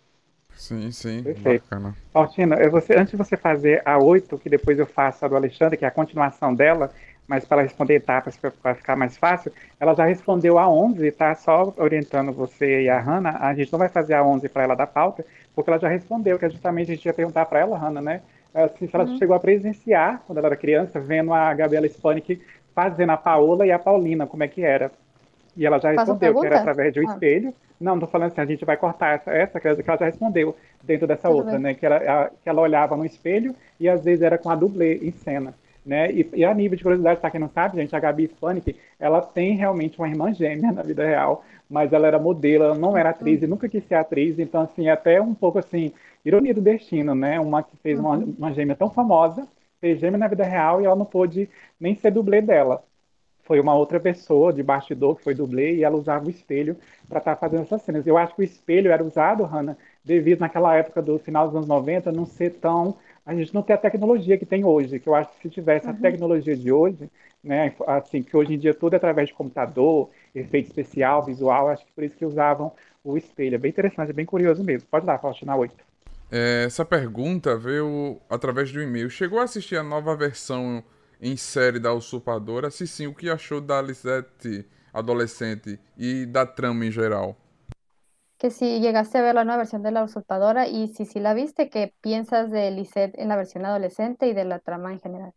Sim, sim, Perfeito. bacana. Altina, é você, antes de você fazer a oito, que depois eu faço a do Alexandre, que é a continuação dela, mas para ela responder etapas para ficar mais fácil, ela já respondeu a onze, tá? Só orientando você e a Hanna, a gente não vai fazer a onze para ela da pauta, porque ela já respondeu, que é justamente a gente ia perguntar para ela, Hanna, né? Assim, se ela Uhum. chegou a presenciar, quando ela era criança, vendo a Gabriela Spanik fazendo a Paola e a Paulina, como é que era. E ela já Faço respondeu que era pergunta? através de um Ah, espelho. Não, não tô falando assim, a gente vai cortar essa, essa que ela já respondeu dentro dessa tudo outra, bem. né? Que, era, a, que ela olhava no espelho e às vezes era com a dublê em cena. Né? E, e a nível de curiosidade, para quem não sabe, gente, a Gabi Spanik, ela tem realmente uma irmã gêmea na vida real, mas ela era modelo, ela não era atriz Uhum. e nunca quis ser atriz, então assim, é até um pouco assim, ironia do destino, né? Uma que fez uma, Uhum. uma gêmea tão famosa, fez gêmea na vida real e ela não pôde nem ser dublê dela, foi uma outra pessoa de bastidor que foi dublê e ela usava o espelho para estar tá fazendo essas cenas. Eu acho que o espelho era usado, Hanna, devido naquela época do final dos anos noventa não ser tão. A gente não ter a tecnologia que tem hoje, que eu acho que se tivesse a Uhum. tecnologia de hoje, né, assim, que hoje em dia tudo é através de computador, efeito especial, visual, acho que por isso que usavam o espelho. É bem interessante, é bem curioso mesmo. Pode dar, Faustina oito. É, essa pergunta veio através do e-mail. Chegou a assistir a nova versão em série da Usurpadora? Se sim, o que achou da Lisette adolescente e da trama em geral? Que si llegaste a ver la nueva versión de La Usurpadora y si sí la viste, ¿qué piensas de Lisette en la versión adolescente y de la trama en general?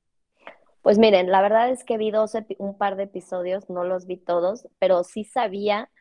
Pues miren, la verdad es que vi dos epi- un par de episodios, no los vi todos, pero sí sabía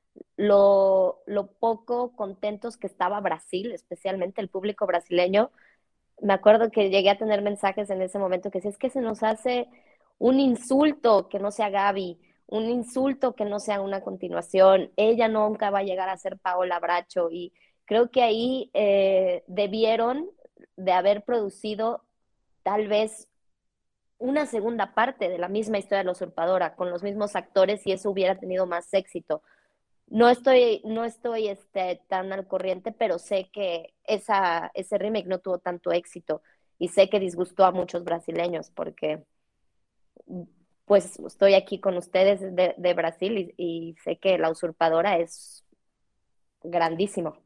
lo, lo poco contentos que estaba Brasil, especialmente el público brasileño. Me acuerdo que llegué a tener mensajes en ese momento que decía, es que se nos hace un insulto que no sea Gaby, un insulto que no sea una continuación, ella nunca va a llegar a ser Paola Bracho y creo que ahí eh, debieron de haber producido tal vez una segunda parte de la misma historia de la usurpadora con los mismos actores y eso hubiera tenido más éxito. No estoy, no estoy este, tan al corriente, pero sé que esa, ese remake no tuvo tanto éxito y sé que disgustó a muchos brasileños porque pues estoy aquí con ustedes de, de Brasil y, y sé que La Usurpadora es grandísimo.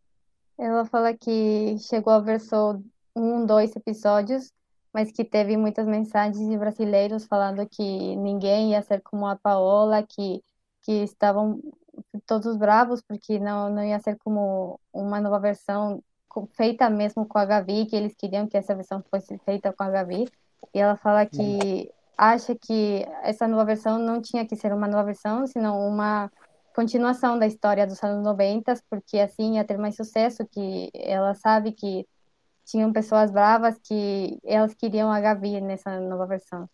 Ela fala que chegou a ver só um, dois episódios, mas que teve muitas mensagens de brasileiros falando que ninguém ia ser como a Paola, que, que estavam todos bravos porque não, não ia ser como uma nova versão co- feita mesmo com a Gavi, que eles queriam que essa versão fosse feita com a Gavi. E ela fala que acha que essa nova versão não tinha que ser uma nova versão, senão uma continuação da história dos anos noventa, porque assim ia ter mais sucesso, que ela sabe que tinham pessoas bravas que elas queriam a Gavi nessa nova versão.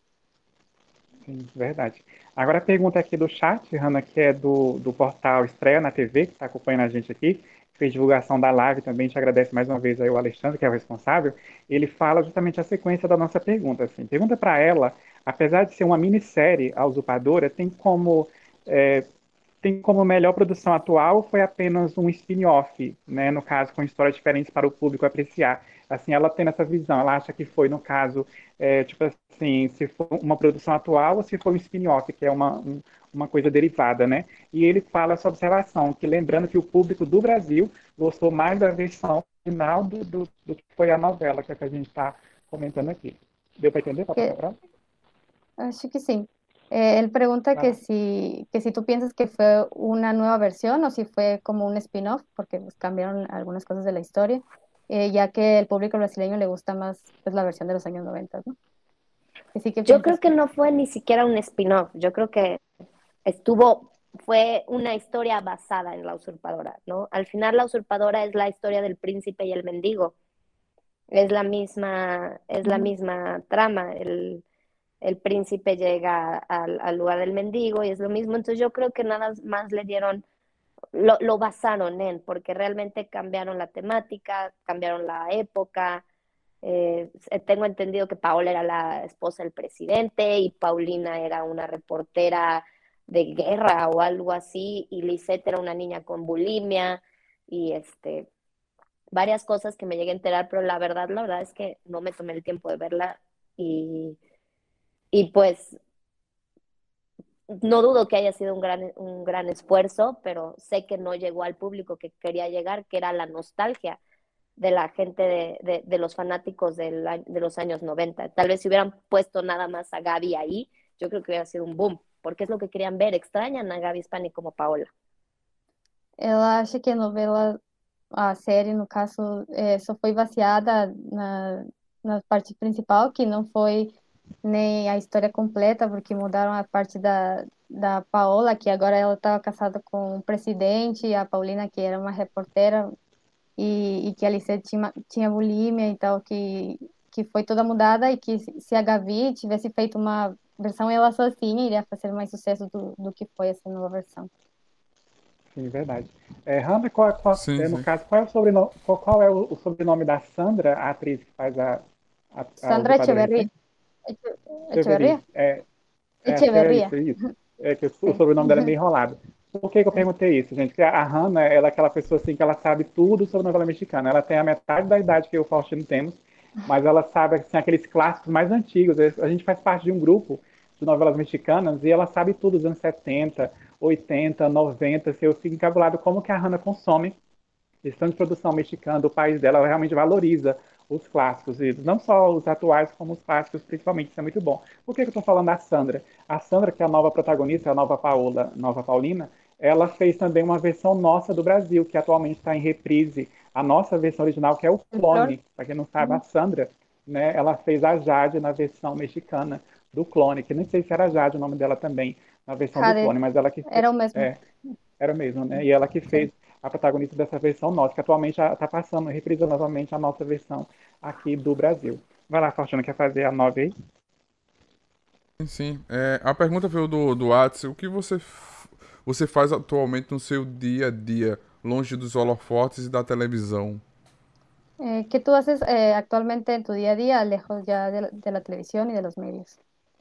Sim, verdade. Agora a pergunta aqui do chat, Hanna, que é do, do portal Estreia na T V, que está acompanhando a gente aqui, fez divulgação da live também, te agradece mais uma vez aí o Alexandre, que é o responsável, ele fala justamente a sequência da nossa pergunta. Assim, pergunta para ela, apesar de ser uma minissérie, A Usurpadora, tem como é, tem como melhor produção atual foi apenas um spin-off, né? No caso, com histórias diferentes para o público apreciar. Assim, ela tem essa visão, ela acha que foi, no caso, é, tipo assim, se for uma produção atual ou se for um spin-off, que é uma, um, uma coisa derivada, né? E ele fala essa observação, que lembrando que o público do Brasil gostou mais da versão final do, do, do que foi a novela, que é a que a gente está comentando aqui. Deu para entender? Para passar Que para ela? acho que sí. Eh, él pregunta Vai que lá. si, que si tú piensas que fue una nueva versión o si fue como un spin-off, porque pues, cambiaron algunas cosas de la historia, eh, ya que el público brasileño le gusta más pues, la versión de los años noventa, ¿no? Que sí que Yo creo piensas que que... no fue ni siquiera un spin-off, yo creo que estuvo, fue una historia basada en La Usurpadora, ¿no? Al final La Usurpadora es la historia del príncipe y el mendigo, es la misma, es la Ujú. misma trama, el, el príncipe llega al, al lugar del mendigo y es lo mismo, entonces yo creo que nada más le dieron, lo, lo basaron en, porque realmente cambiaron la temática, cambiaron la época. Eh, tengo entendido que Paola era la esposa del presidente y Paulina era una reportera de guerra o algo así, y Lisette era una niña con bulimia, y este, varias cosas que me llegué a enterar, pero la verdad, la verdad es que no me tomé el tiempo de verla, y, y pues no dudo que haya sido un gran, un gran esfuerzo, pero sé que no llegó al público que quería llegar, que era la nostalgia de la gente de, de, de los fanáticos del, de los años noventa. Tal vez si hubieran puesto nada más a Gaby ahí, yo creo que hubiera sido un boom, porque es lo que querían ver, extrañan a Gaby Spani como Paola. Ela acha que a novela, a série, no caso, eh, só foi baseada na, na parte principal, que não foi nem a história completa, porque mudaram a parte da, da Paola, que agora ela estava casada com o presidente, e a Paulina, que era uma reportera, e, e que a Alice tinha, tinha bulimia e tal, que, que foi toda mudada, e que se se a Gavi tivesse feito uma versão ela sozinha, iria fazer mais sucesso do, do que foi essa nova versão. Sim, verdade. É, Hanna, qual, qual- Sim, é, no sim. caso, qual é o sobrenome, qual, qual é o, o sobrenome da Sandra, a atriz que faz a, a, a Sandra usurpadora Echeverría. recente? Eche- Cheveri. Echeverría. É, é, acho que é Echeverría, isso, é isso. É que o, o sí. sobrenome dela é meio enrolado. Por que, que eu perguntei isso, gente? Porque a, a Hanna, ela é aquela pessoa assim que ela sabe tudo sobre novela mexicana. Ela tem a metade da idade que eu e o Faustino temos, mas ela sabe assim, aqueles clássicos mais antigos. A gente faz parte de um grupo de novelas mexicanas e ela sabe tudo dos anos setenta, oitenta, noventa. Se eu fico encabulado como que a Hanna consome questão de produção mexicana do país dela, ela realmente valoriza os clássicos, e não só os atuais, como os clássicos, principalmente, isso é muito bom. Por que, que eu estou falando da Sandra? A Sandra, que é a nova protagonista, a nova Paola, nova Paulina, ela fez também uma versão nossa do Brasil, que atualmente está em reprise, a nossa versão original, que é o El Flor. Clone. Para quem não sabe, a Sandra, né, ela fez a Jade na versão mexicana do Clone, que nem sei se era Jade o nome dela também, na versão do Jade, Clone, mas ela que fez, era o mesmo. é, era mesmo, né? E ela que Sí. fez a protagonista dessa versão nossa, que atualmente está passando, reprisando novamente a nossa versão aqui do Brasil. Vai lá, Faustino, quer fazer a nove aí? Sim, sim. É, a pergunta veio do, do Whats. O que você, f- você faz atualmente no seu dia a dia, longe dos holofotes e da televisão? Eh, ¿qué tú haces eh, actualmente en tu día a día, lejos ya de la, de la televisión y de los medios?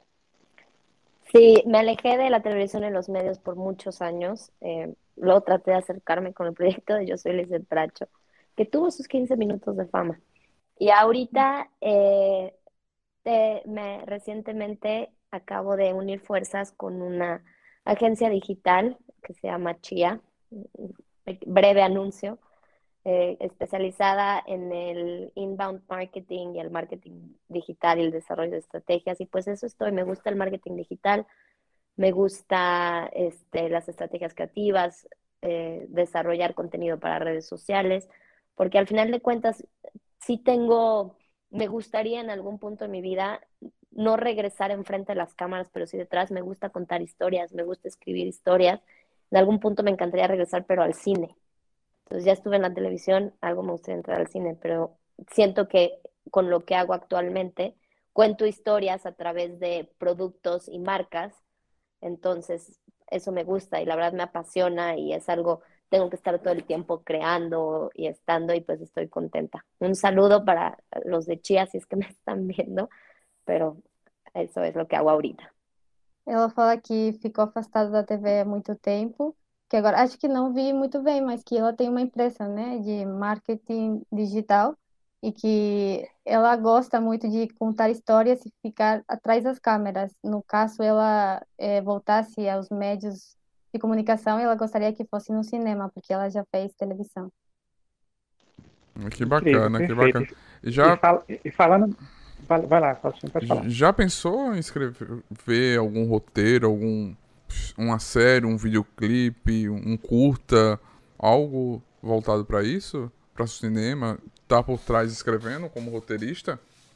Sí, me alejé de la televisión y los medios por muchos años. Eh, luego traté de acercarme con el proyecto de Yo Soy Lizeth Bracho, que tuvo sus quince minutos de fama. Y ahorita, eh, te- me, recientemente acabo de unir fuerzas con una agencia digital que se llama Chia, breve anuncio, eh, especializada en el inbound marketing y el marketing digital y el desarrollo de estrategias. Y pues eso estoy, me gusta el marketing digital, me gusta este, las estrategias creativas, eh, desarrollar contenido para redes sociales, porque al final de cuentas sí tengo, me gustaría en algún punto de mi vida no regresar enfrente de las cámaras, pero sí detrás. Me gusta contar historias, me gusta escribir historias. En algún punto me encantaría regresar, pero al cine. Entonces ya estuve en la televisión, algo me gustaría entrar al cine, pero siento que con lo que hago actualmente, cuento historias a través de productos y marcas. Entonces eso me gusta y la verdad me apasiona y es algo, tengo que estar todo el tiempo creando y estando y pues estoy contenta. Un saludo para los de Chia si es que me están viendo, pero eso es lo que hago ahorita. Ela fala que ficou afastada da T V há muito tempo, que agora acho que não vi muito bem, mas que ela tem uma empresa, né, de marketing digital e que ela gosta muito de contar histórias e ficar atrás das câmeras. No caso, ela eh, voltasse aos meios de comunicação, ela gostaria que fosse no cinema, porque ela já fez televisão. Que Incrível, bacana, que perfeito. bacana. E, E e, já, fal- e falando. Vai, vai lá, Faustinho, pode falar. já pensou em escrever algum roteiro, algum uma série, um videoclipe, um curta, algo voltado para isso, para o cinema? Tá por trás escrevendo como roteirista?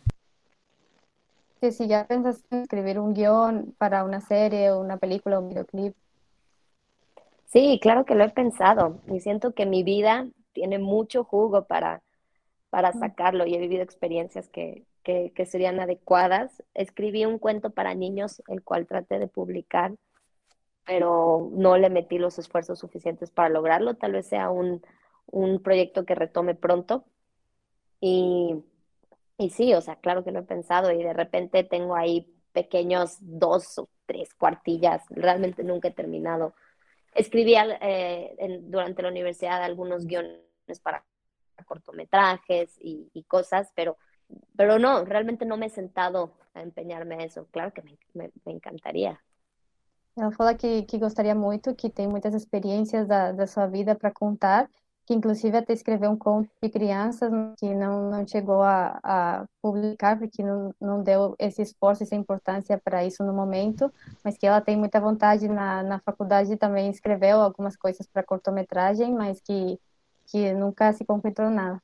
Que si ya pensaste en escribir un guión para una serie, una película, un videoclip. Sí, claro que lo he pensado y siento que mi vida tiene mucho jugo para, para sacarlo y he vivido experiencias que, que, que serían adecuadas. Escribí un cuento para niños, el cual traté de publicar, pero no le metí los esfuerzos suficientes para lograrlo. Tal vez sea un, un proyecto que retome pronto. Y, y sí, o sea, claro que lo he pensado y de repente tengo ahí pequeños dos o tres cuartillas. Realmente nunca he terminado. Escribí al- eh, en- durante la universidad algunos guiones para cortometrajes y, y cosas, pero, pero no, realmente no me he sentado a empeñarme a eso. Claro que me, me, me encantaría. Ela fala que, que gostaria muito, que tem muitas experiências da, da sua vida para contar, que inclusive até escreveu um conto de crianças que não, não chegou a, a publicar, porque não, não deu esse esforço, essa importância para isso no momento, mas que ela tem muita vontade na, na faculdade também escreveu algumas coisas para cortometragem, mas que, que nunca se concretou nada.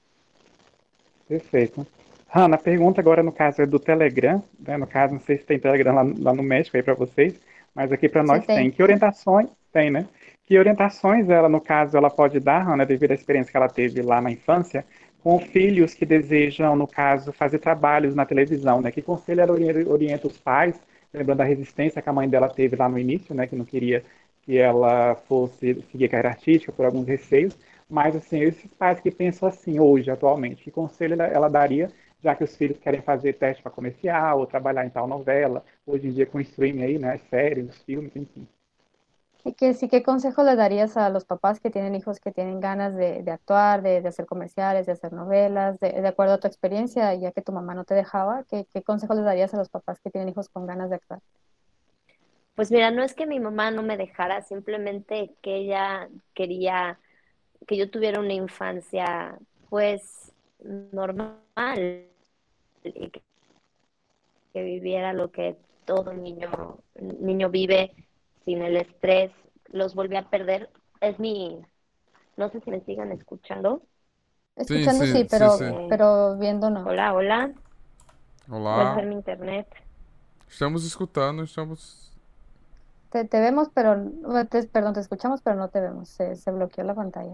Perfeito. Hanna, a pergunta agora no caso é do Telegram, né? No caso, não sei se tem Telegram lá, lá no México aí para vocês, mas aqui para Você nós tem. tem. Que orientações tem, né? Que orientações ela, no caso, ela pode dar, Hanna, devido à experiência que ela teve lá na infância, com filhos que desejam, no caso, fazer trabalhos na televisão, né? Que conselho ela orienta, orienta os pais, lembrando da resistência que a mãe dela teve lá no início, né? Que não queria que ela fosse seguir a carreira artística por alguns receios, mas, assim, esses pais que pensam assim hoje, atualmente, que conselho ela, ela daria, já que os filhos querem fazer teste para comercial ou trabalhar em tal novela, hoje em dia com streaming aí, né, as séries, os filmes, enfim. Y que sí, ¿qué consejo le darías a los papás que tienen hijos que tienen ganas de, de actuar, de, de hacer comerciales, de hacer novelas, de, de acuerdo a tu experiencia, ya que tu mamá no te dejaba, ¿qué, qué consejo le darías a los papás que tienen hijos con ganas de actuar? Pues mira, no es que mi mamá no me dejara, simplemente que ella quería que yo tuviera una infancia pues normal y que, que viviera lo que todo niño, niño vive sin el estrés. Los volví a perder. Es mi, no sé si me sigan escuchando. Sim, Escuchando sí, sim, sim, pero, sim. Eh, pero viendo no. hola, hola. Vuelve a Olá. ser mi internet. Estamos escutando, estamos. Te, te vemos, pero, no- te- perdón, te escuchamos, pero no te vemos. Se, se bloqueó la pantalla.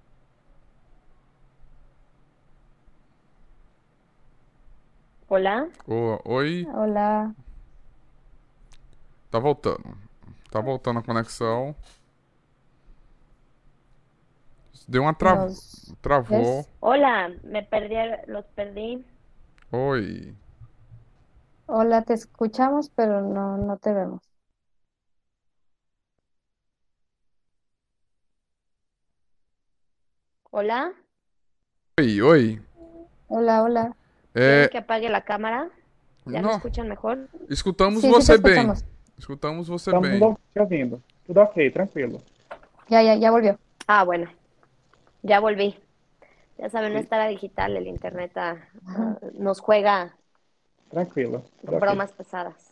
Hola. Ô, oi, Hola, tá voltando. Tá voltando a conexão. Deu uma tra... ¿nos Travou. ves? Hola, me perdí, los perdí. Oi. Hola, te escuchamos, pero no, no te vemos. Hola. Oi, oi. Hola, hola. ¿Quieren É, que apague la cámara? ¿Ya me Não, escuchan mejor? escutamos Sí, sí te você bem. escuchamos. Escutamos você Estamos bem. te ouvindo. Tudo ok, tranquilo. Ya, ya, ya volvió. Ah, bueno, ya volví. Ya saben, E- esta era digital, el internet ah, ah, nos juega Tranquilo, tudo ok. bromas pesadas.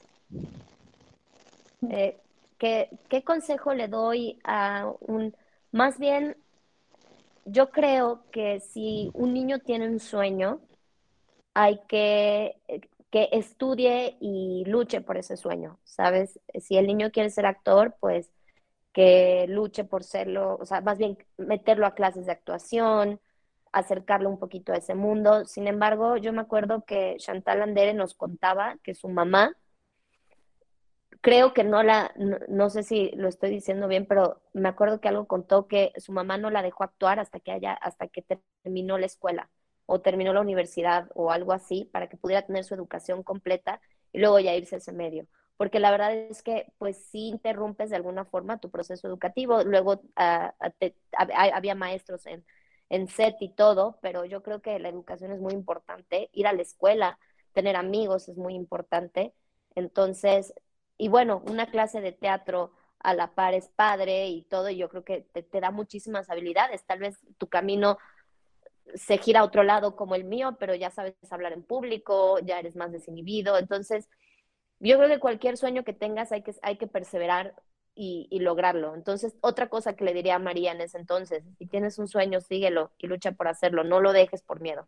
Eh, ¿qué, qué consejo le doy a un... Más bien, yo creo que si un niño tiene un sueño, hay que que estudie y luche por ese sueño, ¿sabes? Si el niño quiere ser actor, pues que luche por serlo, o sea, más bien meterlo a clases de actuación, acercarlo un poquito a ese mundo. Sin embargo, yo me acuerdo que Chantal Andere nos contaba que su mamá, creo que no la, no, no sé si lo estoy diciendo bien, pero me acuerdo que algo contó que su mamá no la dejó actuar hasta que haya, hasta que terminó la escuela o terminó la universidad o algo así para que pudiera tener su educación completa y luego ya irse a ese medio. Porque la verdad es que pues sí interrumpes de alguna forma tu proceso educativo. Luego uh, te, había maestros en, en set y todo, pero yo creo que la educación es muy importante. Ir a la escuela, tener amigos es muy importante. Entonces, y bueno, una clase de teatro a la par es padre y todo, y yo creo que te, te da muchísimas habilidades. Tal vez tu camino se gira a otro lado como el mío, pero ya sabes hablar en público, ya eres más desinhibido. Entonces, yo creo que cualquier sueño que tengas hay que, hay que perseverar y, y lograrlo. Entonces, otra cosa que le diría a María en esse entonces, si tienes un sueño, síguelo y lucha por hacerlo, no lo dejes por miedo.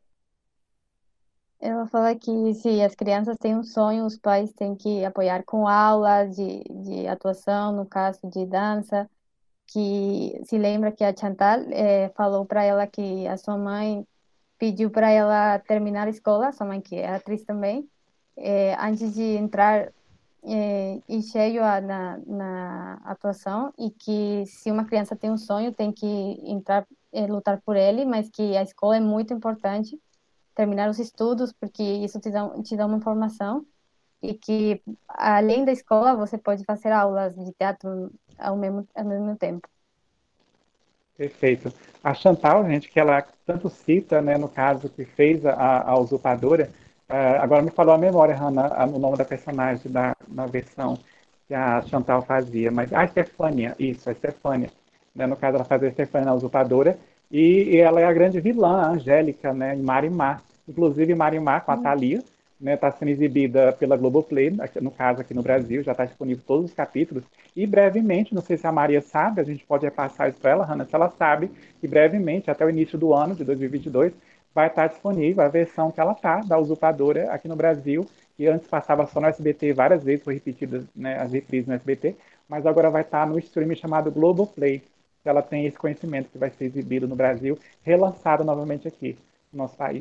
Ela fala que se as crianças têm um sonho, os pais têm que apoiar com aulas de, de atuação, no caso de dança, que se lembra que a Chantal eh, falou para ela que a sua mãe pediu para ela terminar a escola, sua mãe que é atriz também, eh, antes de entrar eh, em cheio a- na, na atuação, e que se uma criança tem um sonho, tem que entrar, eh, lutar por ele, mas que a escola é muito importante, terminar os estudos, porque isso te dá, te dá uma formação, e que além da escola você pode fazer aulas de teatro ao mesmo, ao mesmo tempo. Perfeito. A Chantal, gente, que ela tanto cita, né, no caso que fez a, a usurpadora, ah, agora me falou a memória, Hannah, a- o nome da personagem da, na versão que a Chantal fazia, mas a Estefânia, isso, a Estefânia. Né, no caso, ela fazia a Estefânia na usurpadora, e, e ela é a grande vilã, a Angélica, né, em Marimar. Inclusive, Marimar, com a Hum. Thalia, né, está sendo exibida pela Globoplay, aqui- no caso aqui no Brasil, já está disponível todos os capítulos. E brevemente, não sei se a Maria sabe, a gente pode repassar isso para ela, Hanna, se ela sabe, que brevemente, até o início do ano de dois mil e vinte e dois, vai estar disponível a versão que ela está, da Usurpadora, aqui no Brasil, que antes passava só no S B T várias vezes, foi repetida, né, as reprises no S B T, mas agora vai estar no streaming chamado Globoplay. Ela tem esse conhecimento que vai ser exibido no Brasil, relançado novamente aqui no nosso país.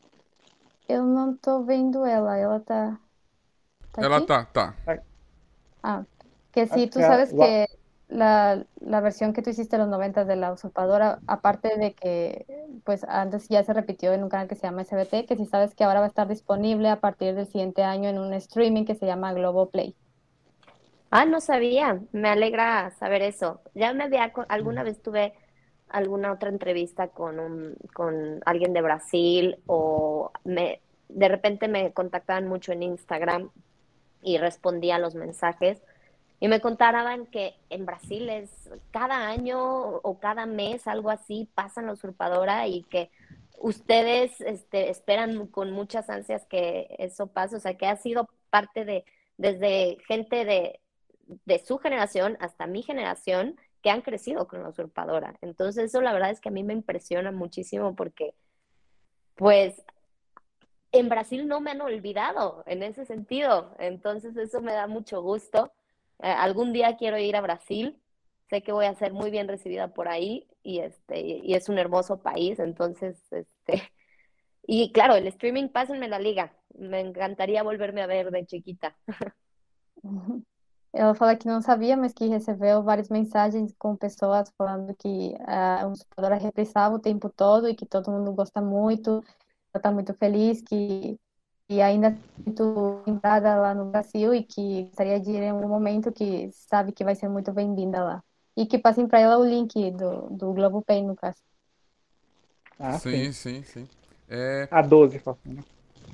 Eu não tô vendo ela, ela tá, tá Ela aqui? tá, tá. Ah, que sí, Acho que tú é sabes o, que la, la versión que tú hiciste en los noventas de La Usurpadora, aparte de que pues antes ya se repitió en un canal que se llama S B T, que sí sabes que ahora va a estar disponible a partir del siguiente año en un streaming que se llama Globoplay. Ah, no sabía, me alegra saber eso. Ya me había, co- alguna vez tuve alguna otra entrevista con un, con alguien de Brasil o me, de repente me contactaban mucho en Instagram y respondía a los mensajes y me contaban que en Brasil es cada año o cada mes, algo así, pasan la usurpadora y que ustedes este, esperan con muchas ansias que eso pase, o sea, que ha sido parte de, desde gente de, de su generación hasta mi generación que han crecido con la usurpadora. Entonces eso la verdad es que a mí me impresiona muchísimo porque pues en Brasil no me han olvidado en ese sentido. Entonces eso me da mucho gusto. Eh, algún día quiero ir a Brasil. Sé que voy a ser muy bien recibida por ahí y este y es un hermoso país. Entonces, este y claro, el streaming, pásenme la liga. Me encantaría volverme a ver de chiquita. Uhum. Ela fala que não sabia, mas que recebeu várias mensagens com pessoas falando que a Usurpadora repressava o tempo todo e que todo mundo gosta muito, ela está muito feliz, que e ainda é muito lembrada lá no Brasil e que gostaria de ir em algum momento, que sabe que vai ser muito bem-vinda lá. E que passem para ela o link do, do Globoplay, no caso. ah, sim. Sim, sim, sim. É, A doze, Faustino.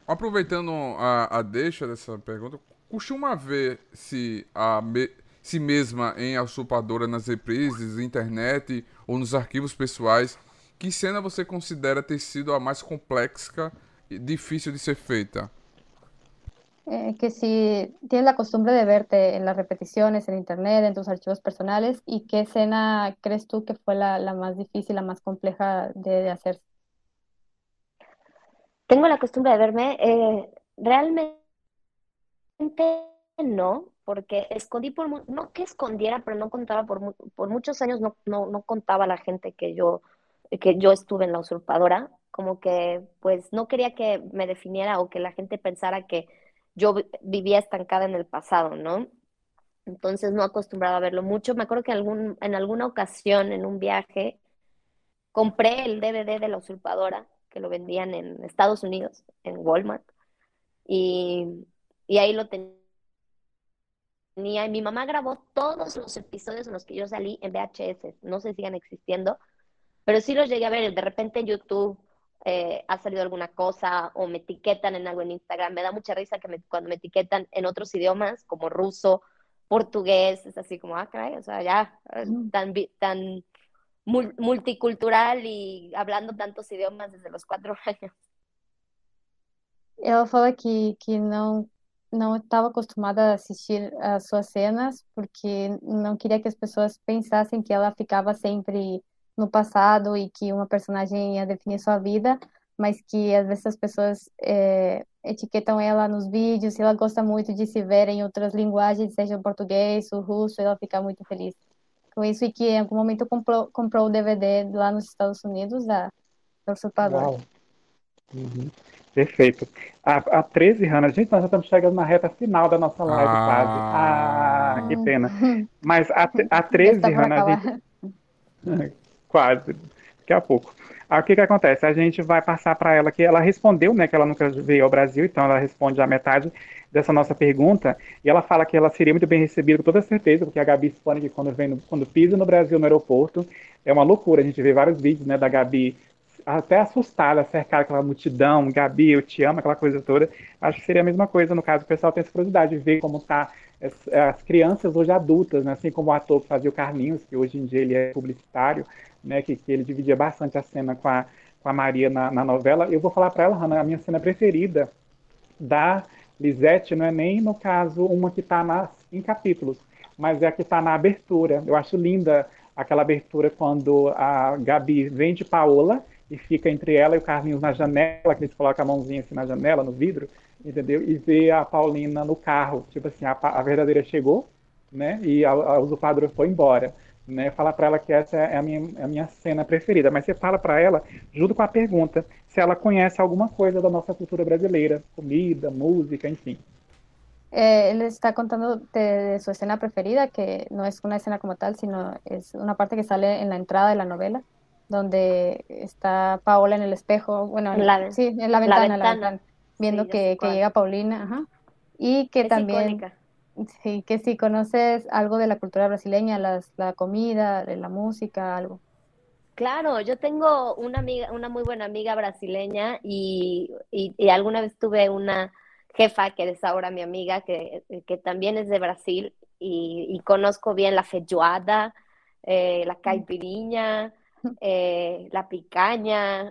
aproveitando a, a deixa dessa pergunta, costuma ver se a me- si mesma em A Usurpadora nas reprises, internet ou nos arquivos pessoais, que cena você considera ter sido a mais complexa e difícil de ser feita? Eh, que si tienes la costumbre de verte en las repeticiones, en internet, en tus archivos personales, ¿y qué escena crees tú que fue la, la más difícil, la más compleja de, de hacer? Tengo la costumbre de verme, eh, realmente no, porque escondí por, mu- no que escondiera, pero no contaba por, mu- por muchos años, no, no, no contaba a la gente que yo, que yo estuve en La Usurpadora, como que pues no quería que me definiera o que la gente pensara que yo vi- vivía estancada en el pasado, ¿no? Entonces no acostumbraba a verlo mucho. Me acuerdo que algún, en alguna ocasión, en un viaje, compré el D V D de La Usurpadora, que lo vendían en Estados Unidos, en Walmart, y, y ahí lo tenía. Y mi mamá grabó todos los episodios en los que yo salí en V H S. No sé si sigan existiendo, pero sí los llegué a ver. De repente en YouTube eh, ha salido alguna cosa o me etiquetan en algo en Instagram. Me da mucha risa que me, cuando me etiquetan en otros idiomas como ruso, portugués, es así como, ah, caray, o sea, ya eh, tan, tan multicultural y hablando tantos idiomas desde los cuatro años. Ela fala que, que não não estava acostumada a assistir as suas cenas porque não queria que as pessoas pensassem que ela ficava sempre no passado e que uma personagem ia definir sua vida, mas que às vezes as pessoas é, etiquetam ela nos vídeos e ela gosta muito de se ver em outras linguagens, seja o português, o russo, e ela fica muito feliz com isso e que em algum momento comprou, comprou o D V D lá nos Estados Unidos da, da Usurpadora. Uau. Uhum. Perfeito. A, a treze, Hannah, gente, nós já estamos chegando na reta final da nossa live quase. Ah, que Ah, pena. Mas a, a Já está treze, por Hannah, a acabar. gente. Quase, daqui a pouco. Aí o que que acontece? A gente vai passar para ela que ela respondeu, né, que ela nunca veio ao Brasil, então ela responde a metade dessa nossa pergunta, e ela fala que ela seria muito bem recebida, com toda certeza, porque a Gabi expõe que quando, vem no, quando pisa no Brasil, no aeroporto, é uma loucura. A gente vê vários vídeos, né, da Gabi até assustada, cercada aquela multidão, Gabi, eu te amo, aquela coisa toda. Acho que seria a mesma coisa, no caso, o pessoal tem essa curiosidade de ver como tá as, as crianças hoje adultas, né, assim como o ator que fazia o Carlinhos, que hoje em dia ele é publicitário, né, que, que ele dividia bastante a cena com a, com a Maria na, na novela. Eu vou falar para ela, Hannah, a minha cena preferida da Lisette não é nem, no caso, uma que está em capítulos, mas é a que está na abertura. Eu acho linda aquela abertura quando a Gabi vem de Paola e fica entre ela e o Carlinhos na janela, que eles colocam a mãozinha assim na janela, no vidro, entendeu? E vê a Paulina no carro. Tipo assim, a, a verdadeira chegou, né? E a, a usurpadora foi embora. Né, falar para ela que essa é a minha, a minha cena preferida, mas você fala para ela, junto com a pergunta, se ela conhece alguma coisa da nossa cultura brasileira, comida, música, enfim. Eh, él está contando de, de su escena preferida, que no es una escena como tal, sino es una parte que sale en la entrada de la novela, donde está Paola en el espejo, bueno, en- La, sí, en la la ventana, en la ventana, ventana, sí, viendo ya sé que, que cuál. llega Paulina, ajá. Y que Es también, icónica. sí, que si conoces algo de la cultura brasileña, las, la comida, de la música, algo. Claro, yo tengo una amiga, una muy buena amiga brasileña y, y, y alguna vez tuve una jefa que es ahora mi amiga, que, que también es de Brasil y, y conozco bien la feijoada, eh, la caipirinha, eh, la picaña,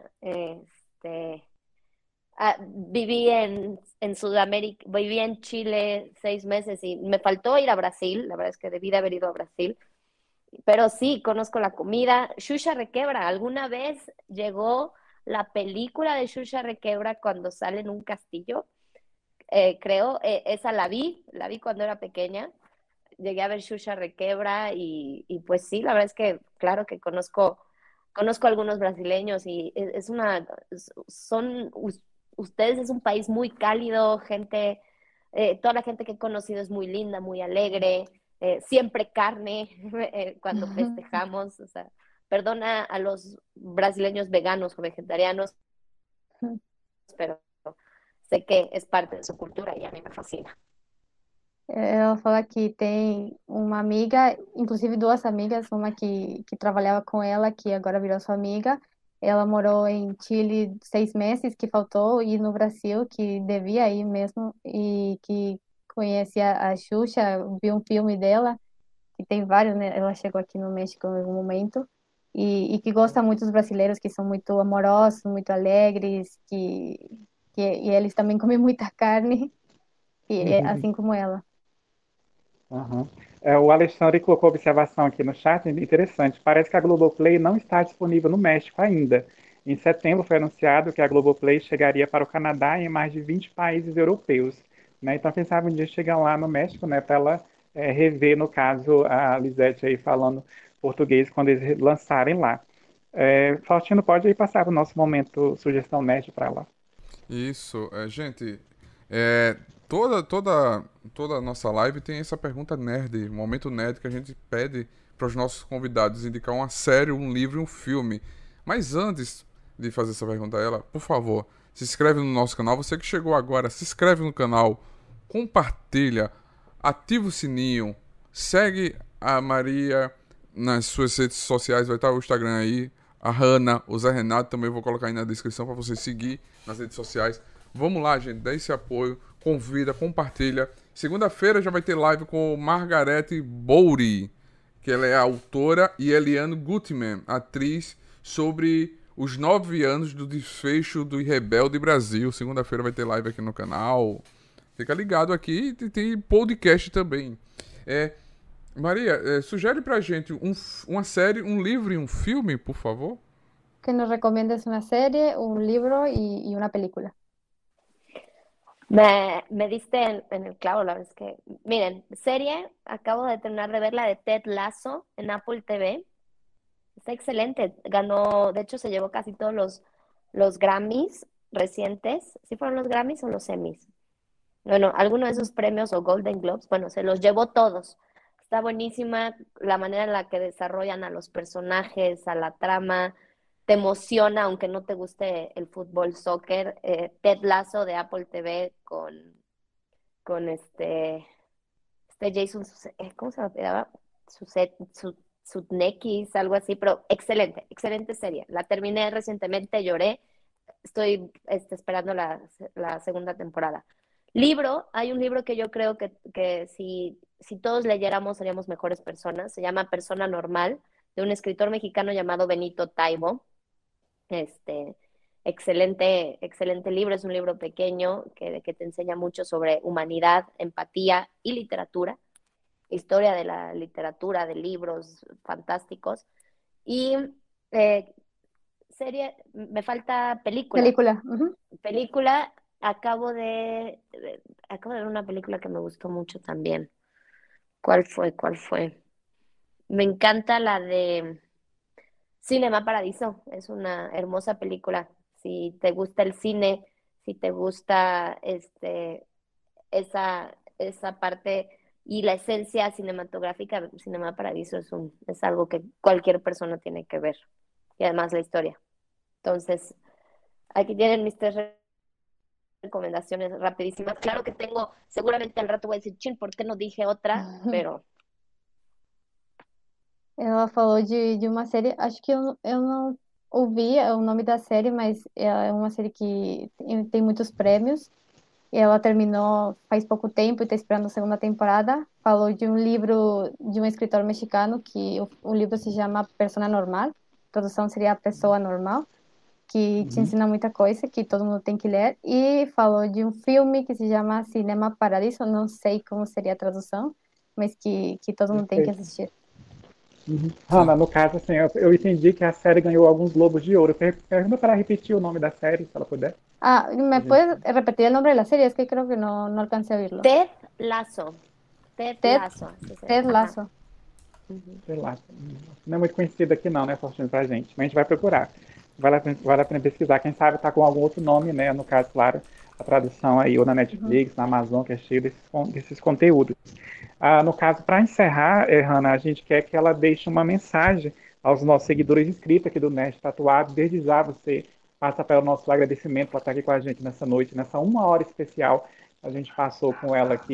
este, ah, viví en, en Sudamérica, viví en Chile seis meses y me faltó ir a Brasil, la verdad es que debí de haber ido a Brasil, pero sí, conozco la comida. Shusha Requebra, alguna vez llegó la película de Shusha Requebra cuando sale en un castillo, eh, creo, eh, esa la vi, la vi cuando era pequeña, llegué a ver Shusha Requebra y, y pues sí, la verdad es que claro que conozco, conozco algunos brasileños y es, es una, son, ustedes es un país muy cálido, gente, eh, toda la gente que he conocido es muy linda, muy alegre, eh, siempre carne eh, cuando festejamos, o sea, perdona a los brasileños veganos o vegetarianos, pero sé que es parte de su cultura y a mí me fascina. Ela fala que tem uma amiga, inclusive duas amigas, uma que, que trabalhava com ela, que agora virou sua amiga, Ela morou em Chile seis meses, que faltou, e no Brasil, que devia ir mesmo, e que conhecia a Xuxa, vi um filme dela, que tem vários, né? Ela chegou aqui no México em algum momento, e, e que gosta muito dos brasileiros, que são muito amorosos, muito alegres, que, que e eles também comem muita carne, e, é assim como ela. Aham. É, o Alexandre colocou observação aqui no chat, interessante. Parece que a Globoplay não está disponível no México ainda. Em setembro foi anunciado que a Globoplay chegaria para o Canadá e em mais de vinte países europeus. Né? Então, quem sabe um dia chegar lá no México, né, para ela é, rever, no caso, a Lisete aí falando português quando eles lançarem lá. É, Faustino, pode aí passar para o nosso momento sugestão nerd para lá. Isso, é, gente, é, toda, toda, toda a nossa live tem essa pergunta nerd, um momento nerd que a gente pede para os nossos convidados indicar uma série, um livro e um filme. Mas antes de fazer essa pergunta a ela, por favor, se inscreve no nosso canal. Você que chegou agora, se inscreve no canal, compartilha, ativa o sininho, segue a Maria nas suas redes sociais, vai estar o Instagram aí, a Hanna, o Zé Renato também vou colocar aí na descrição para você seguir nas redes sociais. Vamos lá, gente, dá esse apoio, convida, compartilha. Segunda-feira já vai ter live com Margarete Bouri, que ela é a autora, e Eliane Gutmann, atriz, sobre os nove anos do desfecho do Rebelde Brasil. Segunda-feira vai ter live aqui no canal. Fica ligado aqui e tem podcast também. É, Maria, é, sugere pra gente um, uma série, um livro e um filme, por favor? Que nos recomiendes una serie, un libro y, y una película. Me, me diste en, en el clavo, la verdad es que, miren, serie, acabo de terminar de ver la de Ted Lasso en Apple T V. Está excelente. Ganó, de hecho, se llevó casi todos los, los Grammys recientes. ¿Sí fueron los Grammys o los Emmys? Bueno, alguno de esos premios o Golden Globes, bueno, se los llevó todos. Está buenísima la manera en la que desarrollan a los personajes, a la trama. Te emociona, aunque no te guste el fútbol, soccer. Eh, Ted Lasso de Apple T V con, con este, este Jason, eh, ¿cómo se llama? Suset, su, Sutnekis, algo así, pero excelente, excelente serie. La terminé recientemente, lloré. Estoy este, esperando la, la, segunda temporada. Libro, hay un libro que yo creo que, que si, si todos leyéramos seríamos mejores personas. Se llama Persona Normal, de un escritor mexicano llamado Benito Taibo. Este, excelente, excelente libro. Es un libro pequeño que, que te enseña mucho sobre humanidad, empatía y literatura. Historia de la literatura, de libros fantásticos. Y eh, serie, me falta película. Película. Uh-huh. Película, acabo de, de, acabo de ver una película que me gustó mucho también. ¿Cuál fue? ¿Cuál fue? Me encanta la de Cinema Paradiso. Es una hermosa película. Si te gusta el cine, si te gusta este, esa, esa parte y la esencia cinematográfica, Cinema Paradiso es, un, es algo que cualquier persona tiene que ver. Y además la historia. Entonces, aquí tienen mis tres recomendaciones rapidísimas. Claro que tengo, seguramente al rato voy a decir, chin, ¿por qué no dije otra? Pero... Ela falou de, de uma série, acho que eu, eu não ouvi o nome da série, mas é uma série que tem, tem muitos prêmios. Ela terminou faz pouco tempo e está esperando a segunda temporada. Falou de um livro de um escritor mexicano que o, o livro se chama Persona Normal. A tradução seria A Pessoa Normal, que te ensina muita coisa, que todo mundo tem que ler. E falou de um filme que se chama Cinema Paradiso, não sei como seria a tradução, mas que, que todo mundo tem que assistir. Uhum. Hanna, no caso, assim, eu, eu entendi que a série ganhou alguns Globos de Ouro. Pergunta para repetir o nome da série, se ela puder. Ah, ¿me puedes repetir el nombre de la serie? Es que creo que no, no alcancé a oírlo. Ted Lasso. Ted, Ted Lasso. Ted Lasso. Uhum. Ted Lasso. Não é muito conhecido aqui não, né, Faustino, pra gente. Mas a gente vai procurar. Vale a pena, vale a pena pesquisar. Quem sabe tá com algum outro nome, né? No caso, claro, a tradução aí, ou na Netflix, uhum. na Amazon, que é cheio desses, desses conteúdos. Ah, no caso, para encerrar, eh, Hanna, a gente quer que ela deixe uma mensagem aos nossos seguidores inscritos aqui do Nerd Tatuado. Desde já você passa pelo nosso agradecimento por estar aqui com a gente nessa noite, nessa uma hora especial que a gente passou com ela aqui.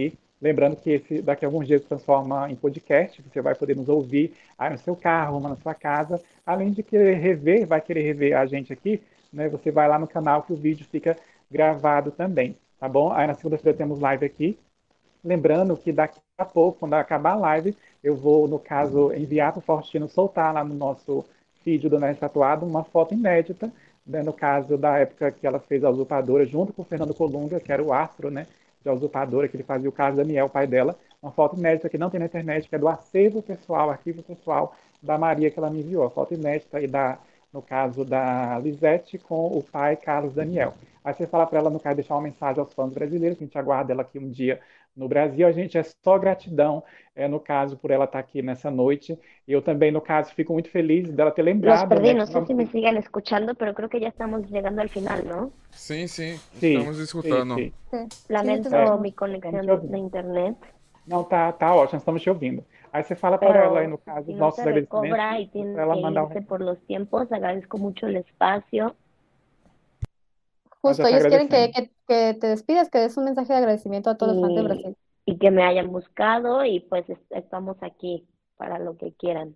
Lembrando que esse daqui a alguns dias se transforma em podcast, você vai poder nos ouvir aí no seu carro, na sua casa. Além de querer rever, vai querer rever a gente aqui, né? Você vai lá no canal que o vídeo fica gravado também, tá bom? Aí na segunda-feira temos live aqui. Lembrando que daqui a pouco, quando acabar a live, eu vou, no caso, enviar para o Faustino soltar lá no nosso feed do Nerd Tatuado uma foto inédita, né, no caso da época que ela fez a Usurpadora, junto com o Fernando Colunga, que era o astro, né, de a Usurpadora, que ele fazia o Carlos Daniel, o pai dela. Uma foto inédita que não tem na internet, que é do acervo pessoal, arquivo pessoal da Maria, que ela me enviou. A foto inédita e da, no caso da Lisete com o pai Carlos Daniel. Aí você fala para ela, no caso, deixar uma mensagem aos fãs brasileiros, que a gente aguarda ela aqui um dia no Brasil. A gente é só gratidão, é, no caso, por ela estar aqui nessa noite. E eu também, no caso, fico muito feliz dela ter Los lembrado, perdí, né, no que sé nós- si me siguen escuchando, pero creo que ya estamos llegando al final, ¿no? Sim, sim, Sim, estamos escutando. sim, sim. Sí. Lamento Sí, sí, É, mi estamos conexión te ouvindo. de internet, Não, tá, tá ótimo, estamos te ouvindo. Aí você fala para ela aí, no pero caso, si os no nossos se agradecimentos, recobra y para tienen ela que mandar um irse recado. por los tiempos, agradezco mucho el espacio. Nós já Justo, te ellos quieren que, agradecemos. que, que te despidas, que des un mensaje de agradecimiento a todos los fans de y, Brasil. y que me hayan buscado y pues es- estamos aquí para lo que quieran.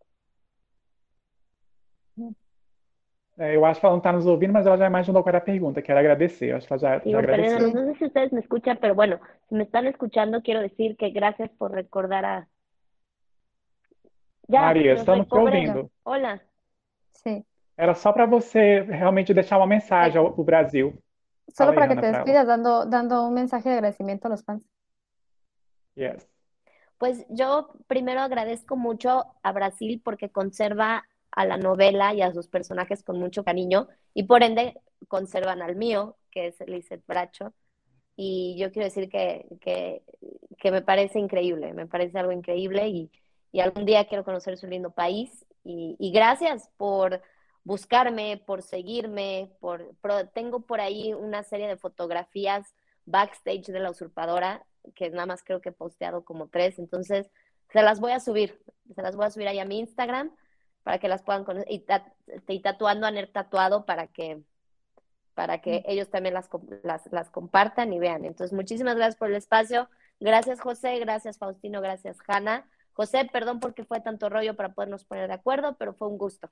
É, eu acho que ela não está nos ouvindo, mas ela já imaginou qual era a pergunta, que era agradecer. Eu acho que ela já, já Sigo perdiendo, agradeceu. no sé si ustedes me escuchan, pero bueno, si me están escuchando, quiero decir que gracias por recordar a... Ya, Maria, los estamos te recobré. ouvindo. Hola. Sí. Era só para você realmente deixar uma mensagem ao pro Brasil. Solo Fala aí, para que Hannah, te para ela. despidas dando, dando un mensaje de agradecimiento a los fans. Yes. Pues yo primero agradezco mucho a Brasil porque conserva a la novela y a sus personajes con mucho cariño y por ende conservan al mío, que es Lizeth Bracho. Y yo quiero decir que, que, que me parece increíble, me parece algo increíble y, y algún día quiero conocer su lindo país. Y, y gracias por buscarme, por seguirme, por, por- tengo por ahí una serie de fotografías backstage de La Usurpadora, que nada más creo que he posteado como tres, entonces se las voy a subir, se las voy a subir ahí a mi Instagram para que las puedan conocer, y, ta- y tatuando a Ner Tatuado para que para que ellos también las, las, las compartan y vean. Entonces, muchísimas gracias por el espacio. Gracias, José. Gracias, Faustino. Gracias, Hanna. José, perdón porque fue tanto rollo para podernos poner de acuerdo, pero fue un gusto.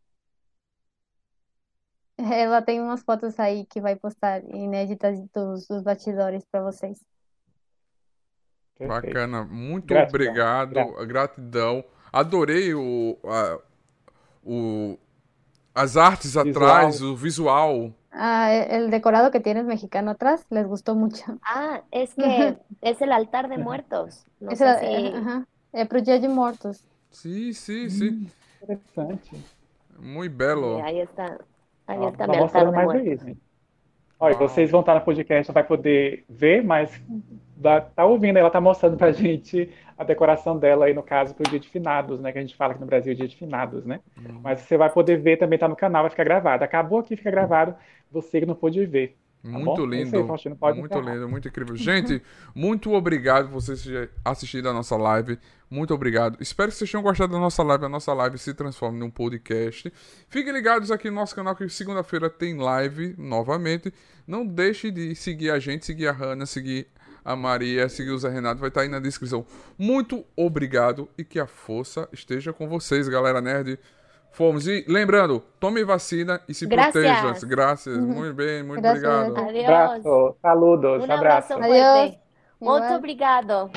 Ela tem umas fotos aí que vai postar inéditas dos, dos bastidores para vocês. Perfeito. Bacana, muito Gratidão. obrigado, Gra- gratidão. Adorei o, a- o, as artes Visual. atrás, o visual. Ah, e- el decorado que tienes mexicano atrás les gustó mucho. Ah, es que es el altar de muertos. No Esse sé é, si... aham, é pro Dia de Mortos. Sim, sim, sim. Interessante. Muito Sí, belo. ahí está. Ahí Ó, está tá mi altar mostrando de mais aí, muertos. gente. Olha, Uau. vocês vão estar no podcast, vai poder ver, mas dá- tá ouvindo, ela tá mostrando pra gente a decoração dela aí, no caso, pro dia de finados, né? Que a gente fala aqui no Brasil, dia de finados, né? Mas você vai poder ver, também tá no canal, vai ficar gravado. Acabou aqui, fica gravado, você que não pôde ver. Tá Muito bom? É isso aí, lindo, Faustino, pode muito encerrar. lindo, muito incrível. Gente, muito obrigado por vocês terem assistido a nossa live. Muito obrigado. Espero que vocês tenham gostado da nossa live. A nossa live se transforme num podcast. Fiquem ligados aqui no nosso canal que segunda-feira tem live novamente. Não deixe de seguir a gente, seguir a Hannah, seguir a Maria, seguir o Zé Renato. Vai estar aí na descrição. Muito obrigado e que a força esteja com vocês, galera nerd. Fomos. E lembrando, tome vacina e se Gracias. proteja. Graças. Muito bem, muito Gracias. obrigado. Adiós. Abraço, saludos, Un abraço. abrazo Adiós. fuerte. Muito Igual. obrigado.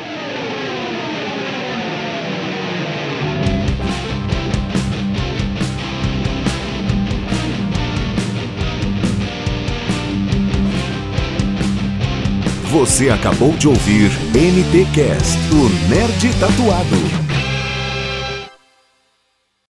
Você acabou de ouvir N T Cast, o Nerd Tatuado.